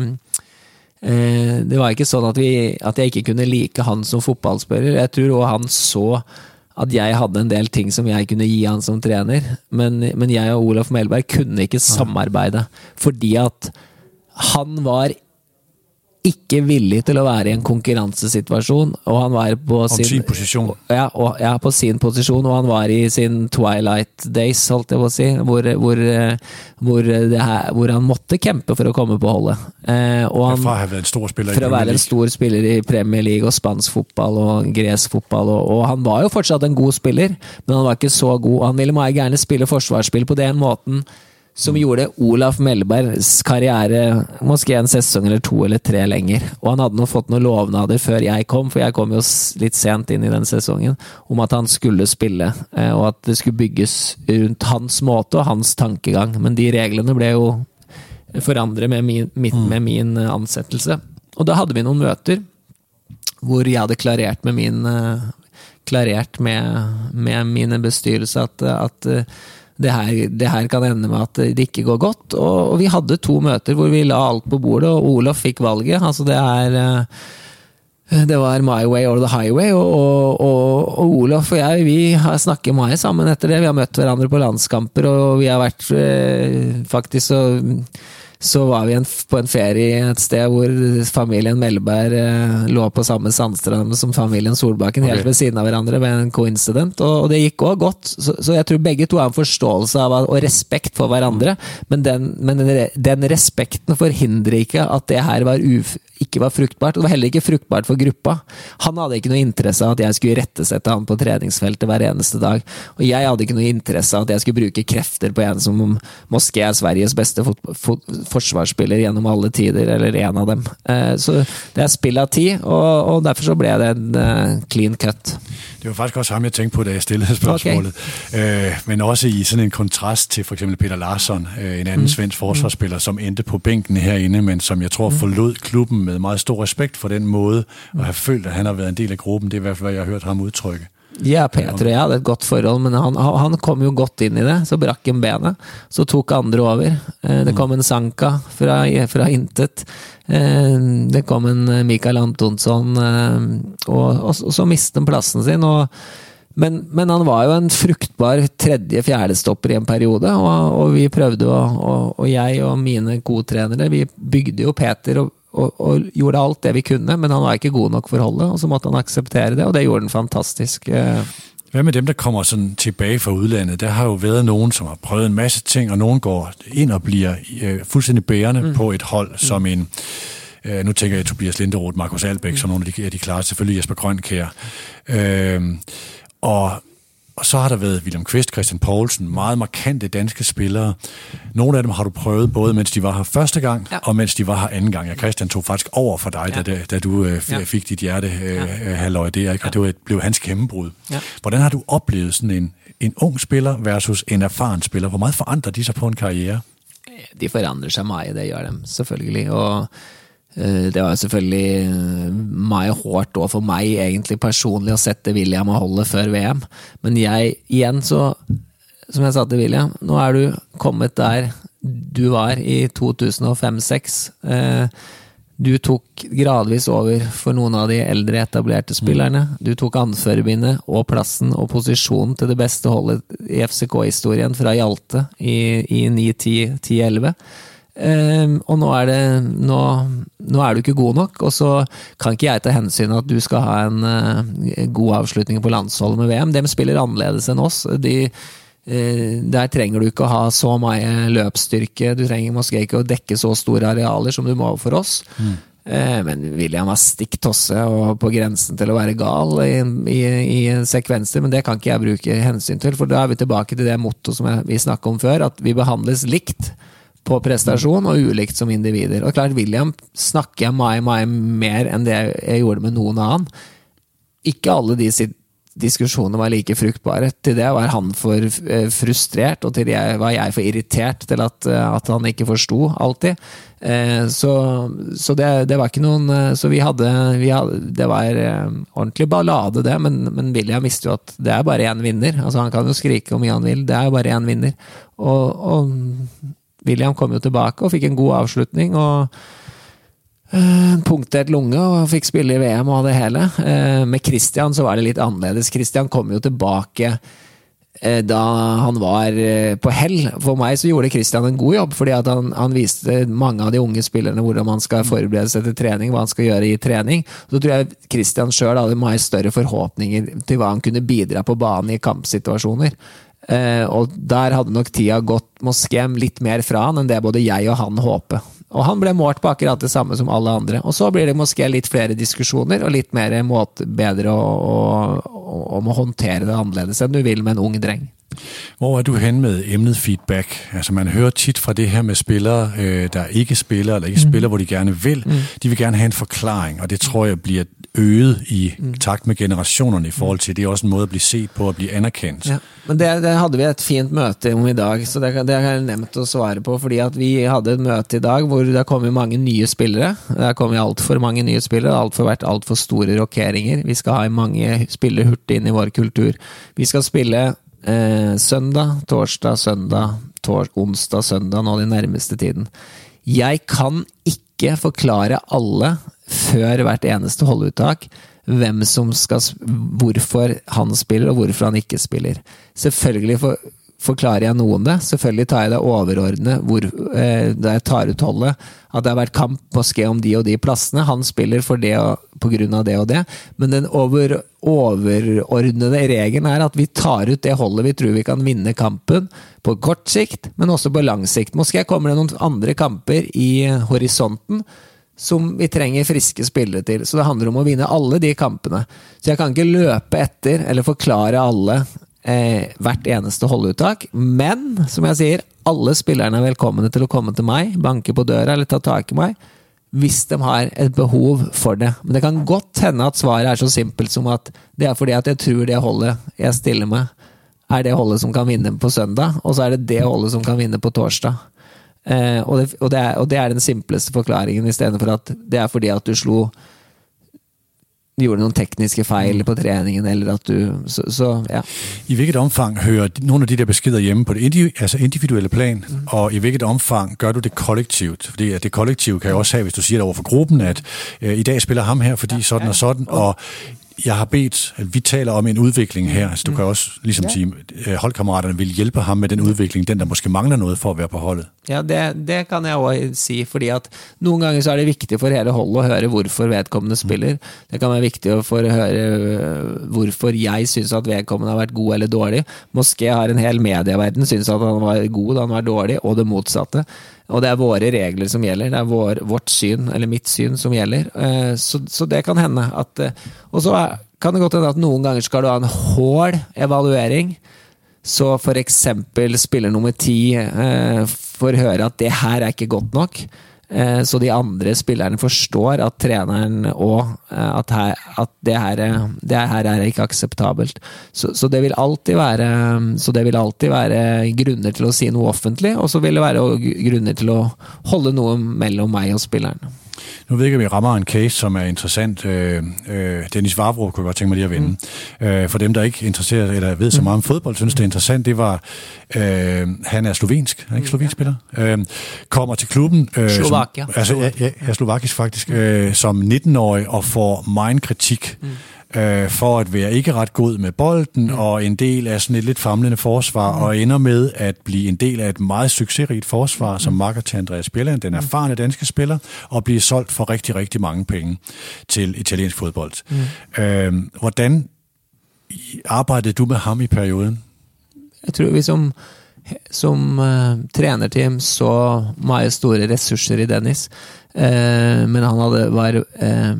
Speaker 3: uh, det var ikke sånn at, vi, at jeg ikke kunne like han som fotballspiller. Jeg tror også han så at jeg hadde en del ting som jeg kunne gi han som trener, men, men jeg og Olaf Melberg kunne ikke samarbeide, fordi at han var ikke villig til å være i en konkurransesituasjon, og han var på sin,
Speaker 2: sin posisjon.
Speaker 3: Ja, og, ja, på sin posisjon, og han var i sin twilight days, holdt jeg på å si, hvor, hvor, hvor, det her, hvor han måtte kjempe for å komme på holdet. Eh, og han,
Speaker 2: fra å være en stor spiller
Speaker 3: for å være en stor spiller i Premier League og spansk fotball og gresk fotball, og, og han var jo fortsatt en god spiller, men han var ikke så god. Han ville meget gjerne spille forsvarsspill på den måten som gjorde Olaf Melbergs karriere måske en sesong eller to eller tre lenger. Og han hadde nå fått noen lovnader før jeg kom, for jeg kom jo litt sent inn i den sesongen, om at han skulle spille, og at det skulle bygges rundt hans måte og hans tankegang. Men de reglene ble jo forandret med min, med min ansettelse. Og da hadde vi noen møter hvor jeg hadde klarert med min klarert med, med mine bestyrelse at, at Det her, det her kan ende med at det ikke går godt, og, og vi hadde to møter hvor vi la alt på bordet, og Olof fikk valget. Altså det er Det var My Way or the Highway, og, og, og, og Olof og jeg, vi har snakket mye sammen etter det. Vi har møtt hverandre på landskamper, og vi har vært eh, faktisk så, så var vi en, på en ferie et sted hvor familien Melberg eh, lå på samme sandstrand som familien Solbakken, okay. Helt ved siden av hverandre ved en coincident, og, og det gikk også godt. Så, så jeg tror begge to har en forståelse av og respekt for hverandre, men den, men den, den respekten forhindrer ikke at det her var uf ikke var fruktbart, og det var heller ikke fruktbart for gruppa. Han hadde ikke noe interesse av at jeg skulle rettesette han på treningsfeltet hver eneste dag, og jeg hadde ikke noe interesse av at jeg skulle bruke krefter på en som Moské er Sveriges beste fot- fot- forsvarsspiller gjennom alle tider, eller en av dem. Eh, så det er spill av tid, og, og derfor så ble det en uh, clean cut.
Speaker 2: Det var faktisk også ham, jeg tænkte på, da jeg stillede spørgsmålet. Okay. Øh, men også i sådan en kontrast til for eksempel Peter Larsson, øh, en anden mm. svensk forsvarsspiller, som endte på bænken herinde, men som jeg tror mm. forlod klubben med meget stor respekt for den måde, og har følt, at han har været en del af gruppen. Det er i hvert fald, hvad jeg har hørt ham udtrykke.
Speaker 3: Ja, Peter og jeg hadde et godt forhold, men han, han kom jo godt inn i det, så brakk en benet, så tok andre over. Det kom en Sanka fra, fra intet, det kom en Mikael Antonsson, og, og, og så mistet han plassen sin, og Men, men han var jo en fruktbar tredje, fjerde stopper i en periode, og, og vi prøvde, og, og, og jeg og mine godtrenere, vi bygde jo Peter og, og, og gjorde alt det vi kunne, men han var ikke god nok for holdet, og så måtte han akseptere det, og det gjorde han fantastisk.
Speaker 2: Hvad med dem, der kommer sådan tilbage fra udlandet? Der har jo været nogen, som har prøvet en masse ting, og nogen går ind og bliver øh, fuldstændig bærende mm. på et hold, mm. som en... Øh, nu tænker jeg Tobias Linderoth, Markus Albeck, mm. som nogle af de, de klare, selvfølgelig Jesper Grønkjær. Øh, og, og så har der været William Kvist, Christian Poulsen, meget markante danske spillere. Nogle af dem har du prøvet, både mens de var her første gang, ja. og mens de var her anden gang. Ja, Christian tog faktisk over for dig, ja. da, da du øh, f- ja. fik dit hjerte øh, ja. halvøj der, ikke? Og det var, blev hans gennembrud. Ja. Hvordan har du oplevet sådan en, en ung spiller versus en erfaren spiller? Hvor meget forandrer de sig på en karriere?
Speaker 3: De forandrer sig meget, det gør dem, selvfølgelig. Og det var selvfølgelig meget hårdt også for mig egentlig personligt at sætte William og holde før V M, men jeg igen så, som jeg sa til William, nu er du kommet der du var i to tusind og fem seks. Du tok gradvis over for nogle af de ældre etablerte spillerne, du tok anførerbindet og plassen og positionen til det bedste holdet i F C K-historien fra Hjalte i, i ni ti elleve. Um, og nå er det nå, nå er du ikke god nok, og så kan ikke jeg ta hensyn at du skal ha en uh, god avslutning på landsholdet med V M. De spiller annerledes enn oss. De, uh, der trenger du ikke å ha så mye løpsstyrke, du trenger måske ikke å dekke så store arealer som du må for oss. Mm. Uh, men William var stikk tosse og på grensen til å være gal i, i, i sekvenser, men det kan ikke jeg bruke hensyn til, for da er vi tilbake til det motto som jeg, vi snakket om før, at vi behandles likt på prestasjon og ulikt som individer. Og klart, William snakker jeg mye, mye mer enn det jeg gjorde med noen annen. Ikke alle de diskusjonene var like fruktbare. Til det var han for frustrert, og til det var jeg for irritert til at, at han ikke forstod alltid. Så, så det, det var ikke noen... Så vi hadde... Vi hadde det var ordentlig ballade det, men, men William visste jo at det er bare en vinner. Altså han kan jo skrike om mye han vil, det er bare en vinner. Og... og William kom jo tilbake og fikk en god avslutning og uh, punktert lunge og fikk spille i V M og det hele. Uh, med Christian så var det litt annerledes. Christian kom jo tilbake uh, da han var uh, på hell. For meg så gjorde Christian en god jobb, fordi at han, han viste mange av de unge spillerne hvordan man skal forberede seg til trening, hva han skal gjøre i trening. Så tror jeg Christian selv hadde mye større forhåpninger til hva han kunne bidra på banen i kampsituasjoner. Uh, og der hadde nok tida gått Moské litt mer fra han enn det både jeg og han håper. Og han ble målt på akkurat det samme som alle andre. Og så blir det Moské litt flere diskusjoner og litt mer måte bedre om å håndtere det annerledes enn du vil med en ung dreng.
Speaker 2: Hvor er du hen med emnet feedback? Altså man hører tit fra det her med spillere, øh, der ikke spiller, eller ikke mm. spiller, hvor de gerne vil. Mm. De vil gerne have en forklaring, og det tror jeg bliver øget i mm. takt med generationerne i forhold til. Det er også en måde at blive set på og blive anerkendt. Ja,
Speaker 3: men det, det hadde vi et fint møte om i dag, så det, det har jeg nemt å svare på, fordi at vi hadde et møte i dag hvor det kom mange nye spillere. Det kom alt for mange nye spillere, alt for vært alt for store rokeringer. Vi skal ha mange spillere hurtig inn i vår kultur. Vi skal spille Eh, søndag, torsdag, søndag, tors- onsdag, søndag nå den nærmeste tiden. Jeg kan ikke forklare alle før hvert eneste holduttak hvem som skal, hvorfor han spiller og hvorfor han ikke spiller. Selvfølgelig for, forklarer jeg noen det, selvfølgelig tar jeg det overordnet hvor, eh, da jeg tar ut holdet, at det har vært kamp måske om de og de plassene, han spiller for det og, på grunn av det og det, men den over, overordnede regelen er at vi tar ut det holdet vi tror vi kan vinne kampen på kort sikt, men også på lang sikt. Måske kommer det noen andre kamper i horisonten som vi trenger friske spillere til, så det handler om å vinne alle de kampene. Så jeg kan ikke løpe etter eller forklare alle Eh, hvert eneste holduttak, men som jeg sier, alle spillerne er velkomne til å komme til meg, banke på døra eller ta tak i meg hvis de har et behov for det. Men det kan godt hende at svaret er så simpelt som at det er fordi at jeg tror det holdet jeg stiller med er det holdet som kan vinne på søndag, og så er det det holdet som kan vinne på torsdag. Eh, og, det, og, det er, og det er den simpleste forklaringen, i stedet for at det er fordi at du slo gjorde noen tekniske fejl på træningen, eller at du, så, så ja.
Speaker 2: I hvilket omfang hører nogle af de der beskeder hjemme på det individu- altså individuelle plan, mm. og i hvilket omfang gør du det kollektivt? Fordi at det kollektive kan jo også have, hvis du siger det over for gruppen, at øh, i dag spiller ham her, fordi ja, sådan ja. og sådan, og jeg har bedt, at vi taler om en udvikling her, altså du kan også ligesom ja. sige, at holdkammeraterne vil hjælpe ham med den udvikling, den der måske mangler noget for at være på holdet.
Speaker 3: Ja, det, det kan jeg også si, fordi at nogle gange så er det vigtigt for hele holdet å høre hvorfor vedkommende spiller. Det kan være viktig for å høre hvorfor jeg synes at vedkommende har vært god eller dårlig. Måske har en hel medieverden synes at han var god, han var dårlig, og det motsatte. Og det er våre regler som gjelder, det er vår, vårt syn, eller mitt syn som gjelder. Så, så det kan hende at, og så er, kan det godt hende at noen ganger skal du ha en hård evaluering, så for eksempel spiller nummer ti eh, får høre at det her er ikke godt nok, eh, så de andre spillerne forstår at treneren og eh, at, her, at det, her, det her er ikke akseptabelt. Så, så, det vil alltid være, så det vil alltid være grunner til å si noe offentlig, og så vil det være grunner til å holde noe mellom meg og spilleren.
Speaker 2: Nu ved jeg, at vi rammer en case, som er interessant. Øh, øh, Dennis Vavro kunne jeg godt tænke mig lige at vende. Mm. Øh, for dem, der ikke er interesseret eller ved så meget om fodbold, synes det er interessant, det var, øh, han er slovensk, er ikke slovensk spiller? Øh, kommer til klubben. Øh,
Speaker 3: Slovakia.
Speaker 2: Som, altså, ja, ja, ja, slovakisk faktisk. Øh, som nitten-årig og får meget kritik. Mm. for at være ikke ret god med bolden, mm. og en del af sådan et lidt famlende forsvar, mm. og ender med at blive en del af et meget succesrigt forsvar, mm. som makker til Andreas Bjelland, den erfarne danske spiller, og bliver solgt for rigtig, rigtig mange penge til italiensk fodbold. Mm. Øh, hvordan arbejdede du med ham i perioden?
Speaker 3: Jeg tror vi som som uh, trenerteam så meget store ressurser i Dennis, uh, men han hadde var uh,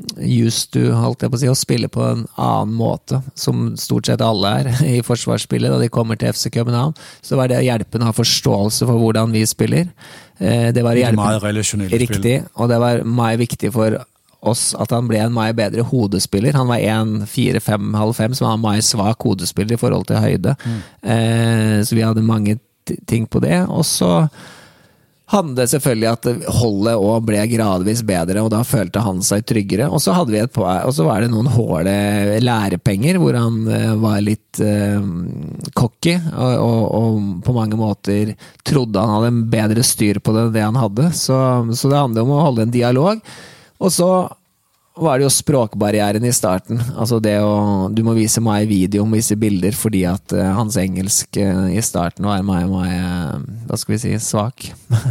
Speaker 3: just du holdt jeg på å si å spille på en annen måte, som stort sett alle er i forsvarsspillet da de kommer til F C København, så var det å hjelpe å ha forståelse for hvordan vi spiller. Uh, det var
Speaker 2: det meget relasjonelle
Speaker 3: riktig, spill. Og det var meget viktig for oss at han ble en meget bedre hodespiller. Han var en fire fem halv fem, som var en meget svak hodespiller i forhold til høyde. Mm. Eh, så vi hadde mange t- ting på det. Og så handlet det selvfølgelig at holdet også ble gradvis bedre, og da følte han seg tryggere. Og så hadde vi et på, og så var det noen hårde lærepenger, hvor han eh, var litt eh, cocky, og, og, og på mange måter trodde han hadde en bedre styr på det enn det han hadde. Så, så det handler om å holde en dialog. Og så var det jo språkbarrieren i starten. Altså det å, du må vise meg video, må vise bilder, fordi at uh, hans engelsk uh, i starten var meg, meg uh, hva skal vi si, svak.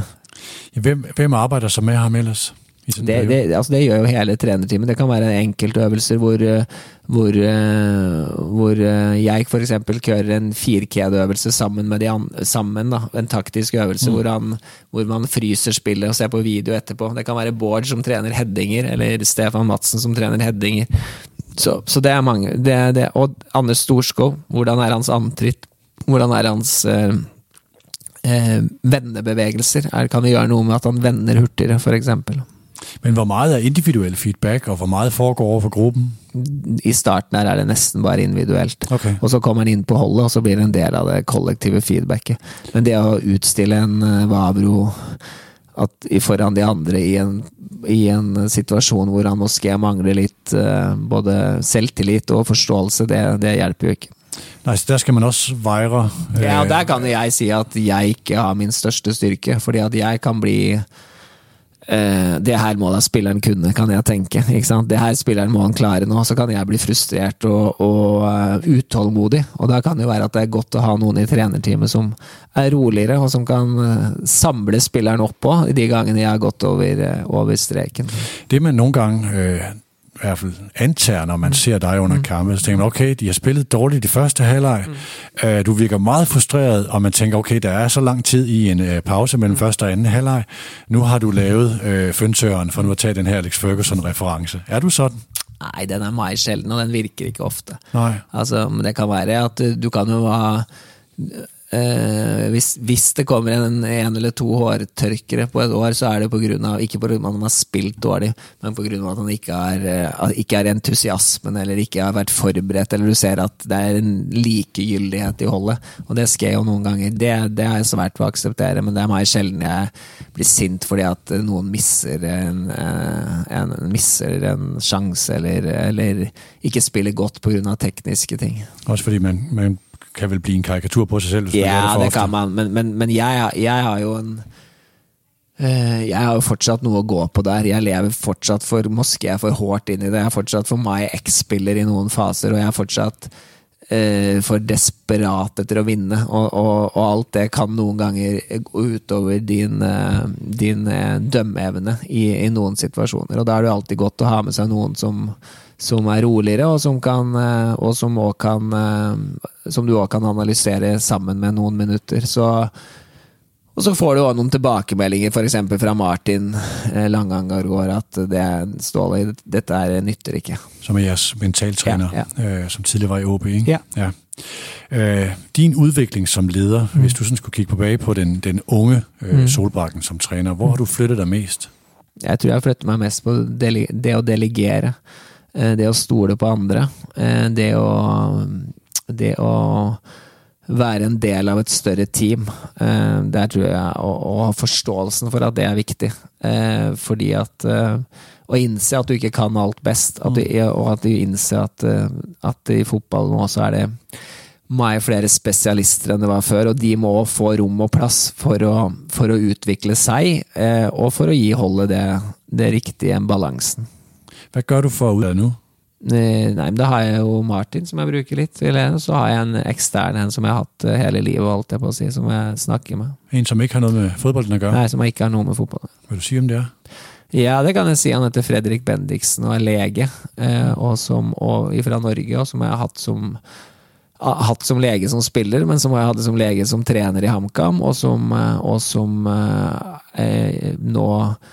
Speaker 2: hvem, hvem arbejder så med ham ellers?
Speaker 3: Det, det, altså det gjør jo hele trenerteamet. Det kan være enkeltøvelser hvor, hvor, hvor jeg for eksempel kører en firkjedeøvelse sammen med de andre, sammen da, en taktisk øvelse mm. hvor, han, hvor man fryser spillet og ser på video etterpå. Det kan være Bård som trener headinger, eller Stefan Madsen som trener headinger. Så, så det er mange. Det, det, og Anders Storskov, hvordan er hans antritt? Hvordan er hans eh, eh, vendebevegelser? Er, kan vi gjøre noe med at han vender hurtigere, for eksempel?
Speaker 2: Men hvor meget er individuel feedback, og hvor meget foregår over for gruppen?
Speaker 3: I starten er det nesten bare individuelt.
Speaker 2: Okay.
Speaker 3: Og så kommer man inn på holdet, og så blir det en del av det kollektive feedbacket. Men det å utstille en uh, Vavro at, foran de andre i en, i en situasjon hvor han måske mangler litt uh, både selvtillit og forståelse, det, det hjelper jo ikke.
Speaker 2: Nej, så der skal man også vejre. Øh...
Speaker 3: Ja, og der kan jeg si at jeg ikke har min største styrke, fordi at jeg kan bli eh, det her må da spilleren kunne, kan jeg tenke, ikke sant? Det her spilleren må han klare nå, så kan jeg bli frustrert og, og uh, utålmodig, og da kan det jo være at det er godt å ha noen i trenerteamet som er roligere, og som kan uh, samle spilleren opp på de gangene jeg har gått over, uh, over streken.
Speaker 2: Det man nogle gange... Øh i hvert fald antager, når man ser dig under kampen, så tænker man, okay, de har spillet dårligt i første halvleg, mm. uh, du virker meget frustreret, og man tænker, okay, der er så lang tid i en uh, pause mellem mm. første og anden halvleg, nu har du lavet uh, føntøren, for nu at tage den her Alex Ferguson-reference. Er du sådan?
Speaker 3: Nej, den er meget sjelden, og den virker ikke ofte.
Speaker 2: Nej.
Speaker 3: Altså, men det kan være at du kan jo ha... Uh, hvis, hvis det kommer en, en eller to hårtørkere på et år, så er det på grunn av, ikke på grunn av at han har spilt dårlig, men på grunn av at han ikke er, uh, ikke er entusiasmen, eller ikke har vært forberedt, eller du ser at det er en likegyldighet i holdet, og det skal jeg jo noen ganger, det, det er svært å akseptere, men det er meget sjelden jeg blir sint fordi at noen misser en, uh, en, misser en chance, eller, eller ikke spiller godt på grunn av tekniske ting.
Speaker 2: Også fordi man... man kan vel blive en karikatur på sig selv, hvis man
Speaker 3: ja,
Speaker 2: gør det for
Speaker 3: det
Speaker 2: ofte.
Speaker 3: kan man, men, men, men jeg, jeg har jo en uh, jeg har jo fortsatt noe å gå på der. Jeg lever fortsatt for Moské, jeg er for hårdt inn i det. Jeg er fortsatt for meg X-spiller i noen faser, og jeg er fortsatt uh, for desperat etter å vinne, og, og, og alt det kan noen ganger gå utover din, uh, din uh, dømmeevne i, i noen situasjoner, og da er det alltid godt å ha med seg noen som som er roligere, og som kan, og som også kan, som du også kan analysere sammen med noen minutter. Så, og så får du også noen tilbakemeldinger, for eksempel fra Martin Langangargård, at det Ståle, dette er nytter ikke.
Speaker 2: Som er jeres mentaltræner, ja, ja. Øh, som tidligere var i O B, ikke?
Speaker 3: Ja.
Speaker 2: Ja. Øh, din udvikling som leder, mm. hvis du sådan skulle kigge tilbage på den, den unge øh, mm. Solbakken som træner, hvor har du flyttet dig mest?
Speaker 3: Jeg tror jeg flyttet meg mest på dele, det å delegere. Det å stole på andre, det å, det å være en del av et større team, der tror jeg å, å ha forståelsen for at det er viktig, fordi at å innse at du ikke kan alt best, at du, og at du innser at, at i fotball nå så er det mye flere spesialister enn det var før, og de må få rom og plass for å, for å utvikle seg, og for å gi holdet det, det riktige balansen.
Speaker 2: Hvad gør du for ud af nu?
Speaker 3: Nei, men da har jeg jo Martin som jeg bruker litt, eller så har jeg en ekstern, en som jeg har hatt hele livet, alt jeg på å si, som jeg snakker med.
Speaker 2: En som ikke har noget med fodbolden at gøre?
Speaker 3: Nei, som ikke har noe med fotball.
Speaker 2: Vil du si om det er?
Speaker 3: Ja, det kan jeg si. Han heter Fredrik Bendiksen og er lege, eh, og som, og fra Norge, og som jeg har hatt som hatt som lege som spiller, men som jeg hadde som lege som trener i HamKam, og som, og som eh, nå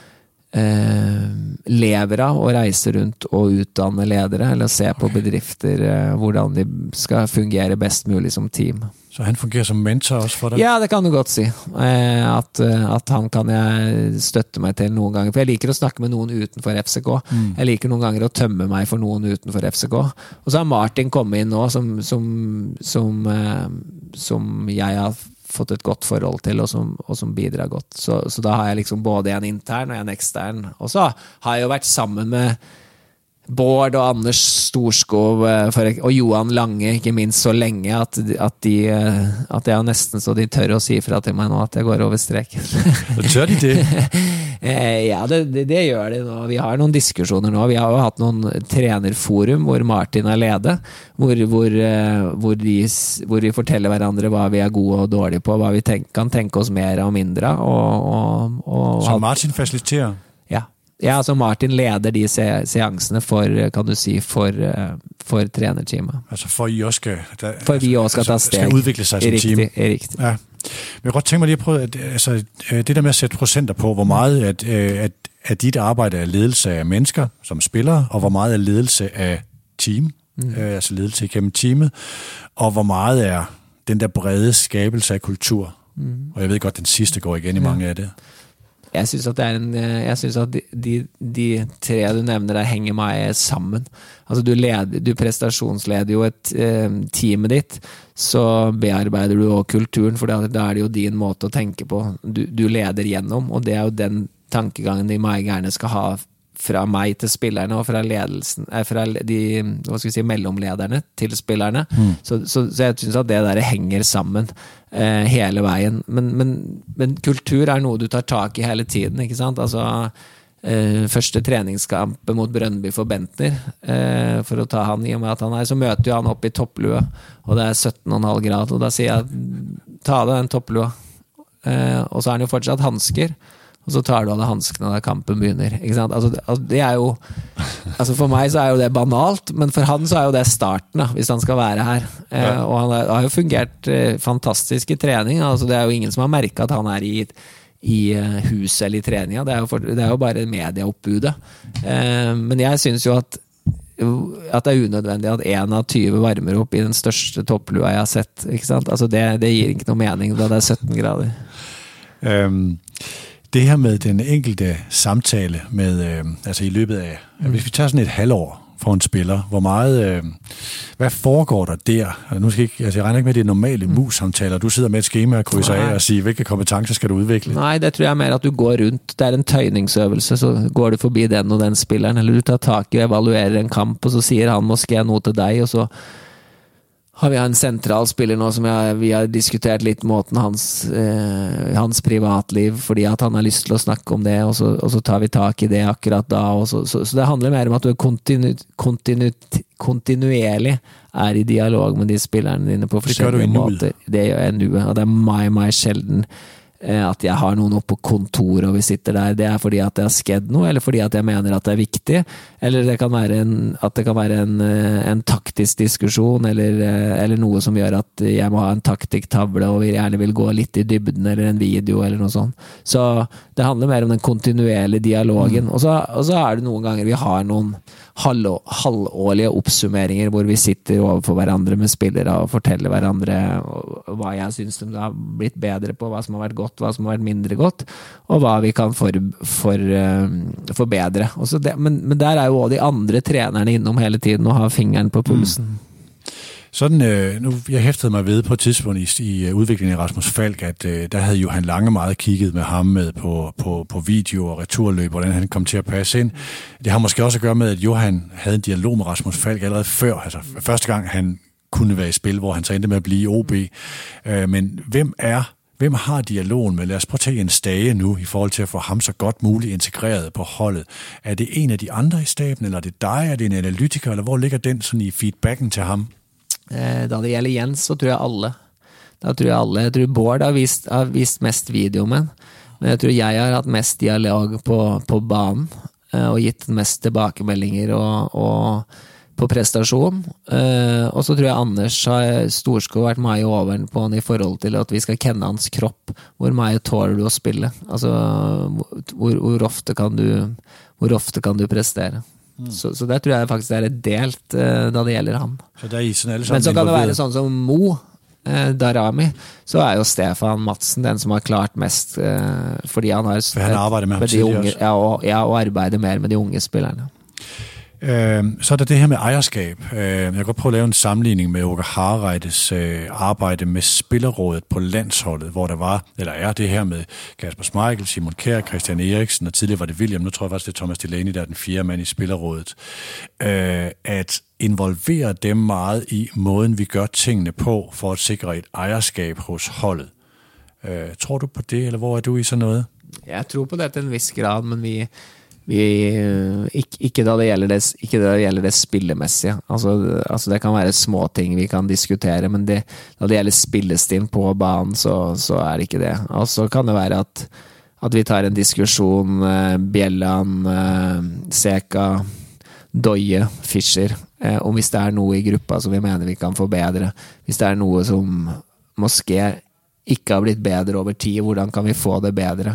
Speaker 3: Eh, lever av og reiser rundt og utdanne ledere, eller se på bedrifter eh, hvordan de skal fungere best mulig som team.
Speaker 2: Så han fungerer som mentor også for deg?
Speaker 3: Ja, det kan du godt si. Eh, at, at han kan jeg støtte meg til noen ganger, for jeg liker å snakke med noen utenfor F C K. Mm. Jeg liker noen ganger å tømme meg for noen utenfor F C K. Og så har Martin kommet inn nå som, som, som, eh, som jeg har fått et godt forhold til, og som, og som bidrar godt. Så, så da har jeg liksom både en intern og en ekstern. Og så har jeg jo vært sammen med Bård og Anders Storskov for, og Johan Lange, ikke minst så lenge at, at, de, at jeg nesten så de tør å si fra til meg nå at jeg går over streken.
Speaker 2: Tør de det?
Speaker 3: Ja, det, det, det gjør de nå. Vi har noen diskusjoner nå. Vi har jo hatt noen trenerforum hvor Martin er leder, hvor, hvor, hvor, de, hvor de forteller hverandre hva vi er gode og dårlige på, hva vi tenk, kan tenke oss mer og mindre. Og, og, og,
Speaker 2: så Martin fasiliterer?
Speaker 3: Ja. Ja, altså Martin leder de se seansene for, kan du si, for, for trenerteamet.
Speaker 2: Altså for I også skal, der,
Speaker 3: for vi også skal
Speaker 2: altså,
Speaker 3: ta steg.
Speaker 2: Skal udvikle sig som
Speaker 3: riktig,
Speaker 2: team.
Speaker 3: Riktig.
Speaker 2: Ja. Men jeg kan godt tænke mig lige at prøve, at, altså, det der med at sætte procenter på, hvor meget at, at, at dit arbejde er ledelse af mennesker som spillere, og hvor meget er ledelse af team, mm. øh, altså ledelse igennem teamet, og hvor meget er den der brede skabelse af kultur. Mm. Og jeg ved godt, den sidste går igen i mange ja. af det.
Speaker 3: Jeg synes at det er en, jeg synes at de, de, de tre du nevner der henger meg sammen. Altså du, leder, du prestasjonsleder jo et eh, teamet ditt, så bearbeider du også kulturen, for da er det jo din måte å tenke på. Du, du leder gjennom, og det er jo den tankegangen de meg gjerne skal ha fra meg til spillerne og fra ledelsen, eh, fra de, hva skal vi si, mellomlederne til spillerne. Mm. Så, så, så jeg synes at det der henger sammen eh, hele veien. Men, men, men kultur er noe du tar tak i hele tiden, ikke sant? Altså, eh, første treningskamp mot Brøndby for Bentner, eh, for å ta han i og med at han er, så møter jo han opp i topplue, og det er sytten komma fem grad, og da sier jeg, ta av deg den topplua. Eh, og så er han jo fortsatt hansker, og så tar du av deg hanskene da kampen begynner, ikke sant? Altså, altså, det er jo, altså for meg så er jo det banalt, men for han så er jo det starten da, hvis han skal være her. Eh, og han er, har jo fungert eh, fantastisk i trening, altså det er jo ingen som har merket at han er i, i huset eller i treninga, det er jo, for, det er jo bare medieoppbudet. Eh, men jeg synes jo at at det er unødvendig at en av tyve varmer opp i den største topplua jeg har sett, ikke sant? Altså det, det gir ikke noe mening da det er sytten grader.
Speaker 2: Um Det her med den enkelte samtale med, øh, altså i løbet af, mm. hvis vi tager sådan et halvår for en spiller, hvor meget, øh, hvad foregår der der? Altså, nu skal ikke, altså jeg regner ikke med, at det er normale mm. mus-samtaler. Du sidder med et skema og krydser af og siger, hvilke kompetencer skal du udvikle?
Speaker 3: Nej, det tror jeg mer at du går rundt. Det er en tøjningsøvelse, så går du forbi den og den spilleren, eller du tar tak i og evaluerer en kamp, og så siger han måske noe til deg, og så har vi en central spiller nå som jeg, vi har diskutert litt måten hans, eh, hans privatliv, fordi at han har lyst til å snakke om det, og så, og så tar vi tak i det akkurat da, og så, så, så det handler mer om at du er kontinu, kontinu, kontinuerlig er i dialog med de spillerne dine på forskjellige måter. Det gjør jeg nu, og det er meg, meg sjelden at jeg har noen oppe på kontor og vi sitter der, det er fordi at det har skjedd noe, eller fordi at jeg mener at det er viktig, eller det kan være en, at det kan være en, en taktisk diskusjon, eller, eller noe som gjør at jeg må ha en taktikktavle og vi gjerne vil gå litt i dybden, eller en video, eller noe sånt. Så det handler mer om den kontinuerlige dialogen, mm. og, så, og så er det noen ganger vi har noen halv, halvårlige oppsummeringer hvor vi sitter overfor hverandre med spillere og forteller hverandre hva jeg synes de har blitt bedre på, hva som har vært godt, hva som har vært mindre godt, og hva vi kan for, for, uh, forbedre. Og så det, men, men der er jo også de andre trenerne innom hele tiden og har fingeren på pulsen. Mm.
Speaker 2: Sådan, øh, nu, jeg hæftede mig ved på et tidspunkt i, i udviklingen af Rasmus Falk, at øh, der havde Johan Lange meget kigget med ham med på, på, på video og returløb, hvordan han kom til at passe ind. Det har måske også at gøre med, at Johan havde en dialog med Rasmus Falk allerede før, altså første gang han kunne være i spil, hvor han så endte med at blive i O B. Øh, men hvem er Hvem har dialogen med? Lad os prøve at tage en Stage nu, i forhold til at få ham så godt muligt integreret på holdet. Er det en af de andre i staben, eller er det dig? Er det en analytiker, eller hvor ligger den sådan i feedbacken til ham?
Speaker 3: Da det gjelder Jens, så tror jeg alle. Da tror jeg alle. Jeg tror Bård har vist, har vist mest video med, men jeg tror jeg har hatt mest dialog på, på banen, og gitt mest tilbakemeldinger og, og på prestasjon. Og så tror jeg Anders har Storskov vært mye over på han i forhold til at vi skal kenne hans kropp. Hvor mye tåler du å spille? Altså, hvor, hvor, ofte kan du, hvor ofte kan du prestere? Mm. Så, så det tror jeg faktisk er et delt uh, da det gjelder han.
Speaker 2: Så det er sånn,
Speaker 3: Men så kan det være sånn som Mo uh, Darami, så er jo Stefan Madsen den som har klart mest uh, fordi han har
Speaker 2: For han arbejder med, med
Speaker 3: de unge, ja, og, ja, og arbeider mer med de unge spillerne.
Speaker 2: Øh, så er der det her med ejerskab. Øh, jeg kan godt prøve at lave en sammenligning med Åke Hareides øh, arbejde med spillerrådet på landsholdet, hvor der var, eller er det her med Kasper Schmeichel, Simon Kjær, Christian Eriksen, og tidligere var det William, nu tror jeg faktisk, det er Thomas Delaney, der er den fjerde mand i spillerrådet. Øh, at involvere dem meget i måden, vi gør tingene på, for at sikre et ejerskab hos holdet. Øh, tror du på det, eller hvor er du i sådan noget?
Speaker 3: Jeg tror på det til en vis grad, men vi Vi, ikke, ikke, da det gjelder det, ikke da det gjelder det spillemessige. Altså, altså det kan være små ting vi kan diskutere, men det, da det gjelder spillestil på banen, så, så er det ikke det. Og så kan det være at, at vi tar en diskusjon, eh, Bjelland, eh, Seka, Doye, Fischer, eh, om hvis det er noe i gruppa som vi mener vi kan forbedre. Hvis det er noe som måske ikke har blitt bedre over tid, hvordan kan vi få det bedre?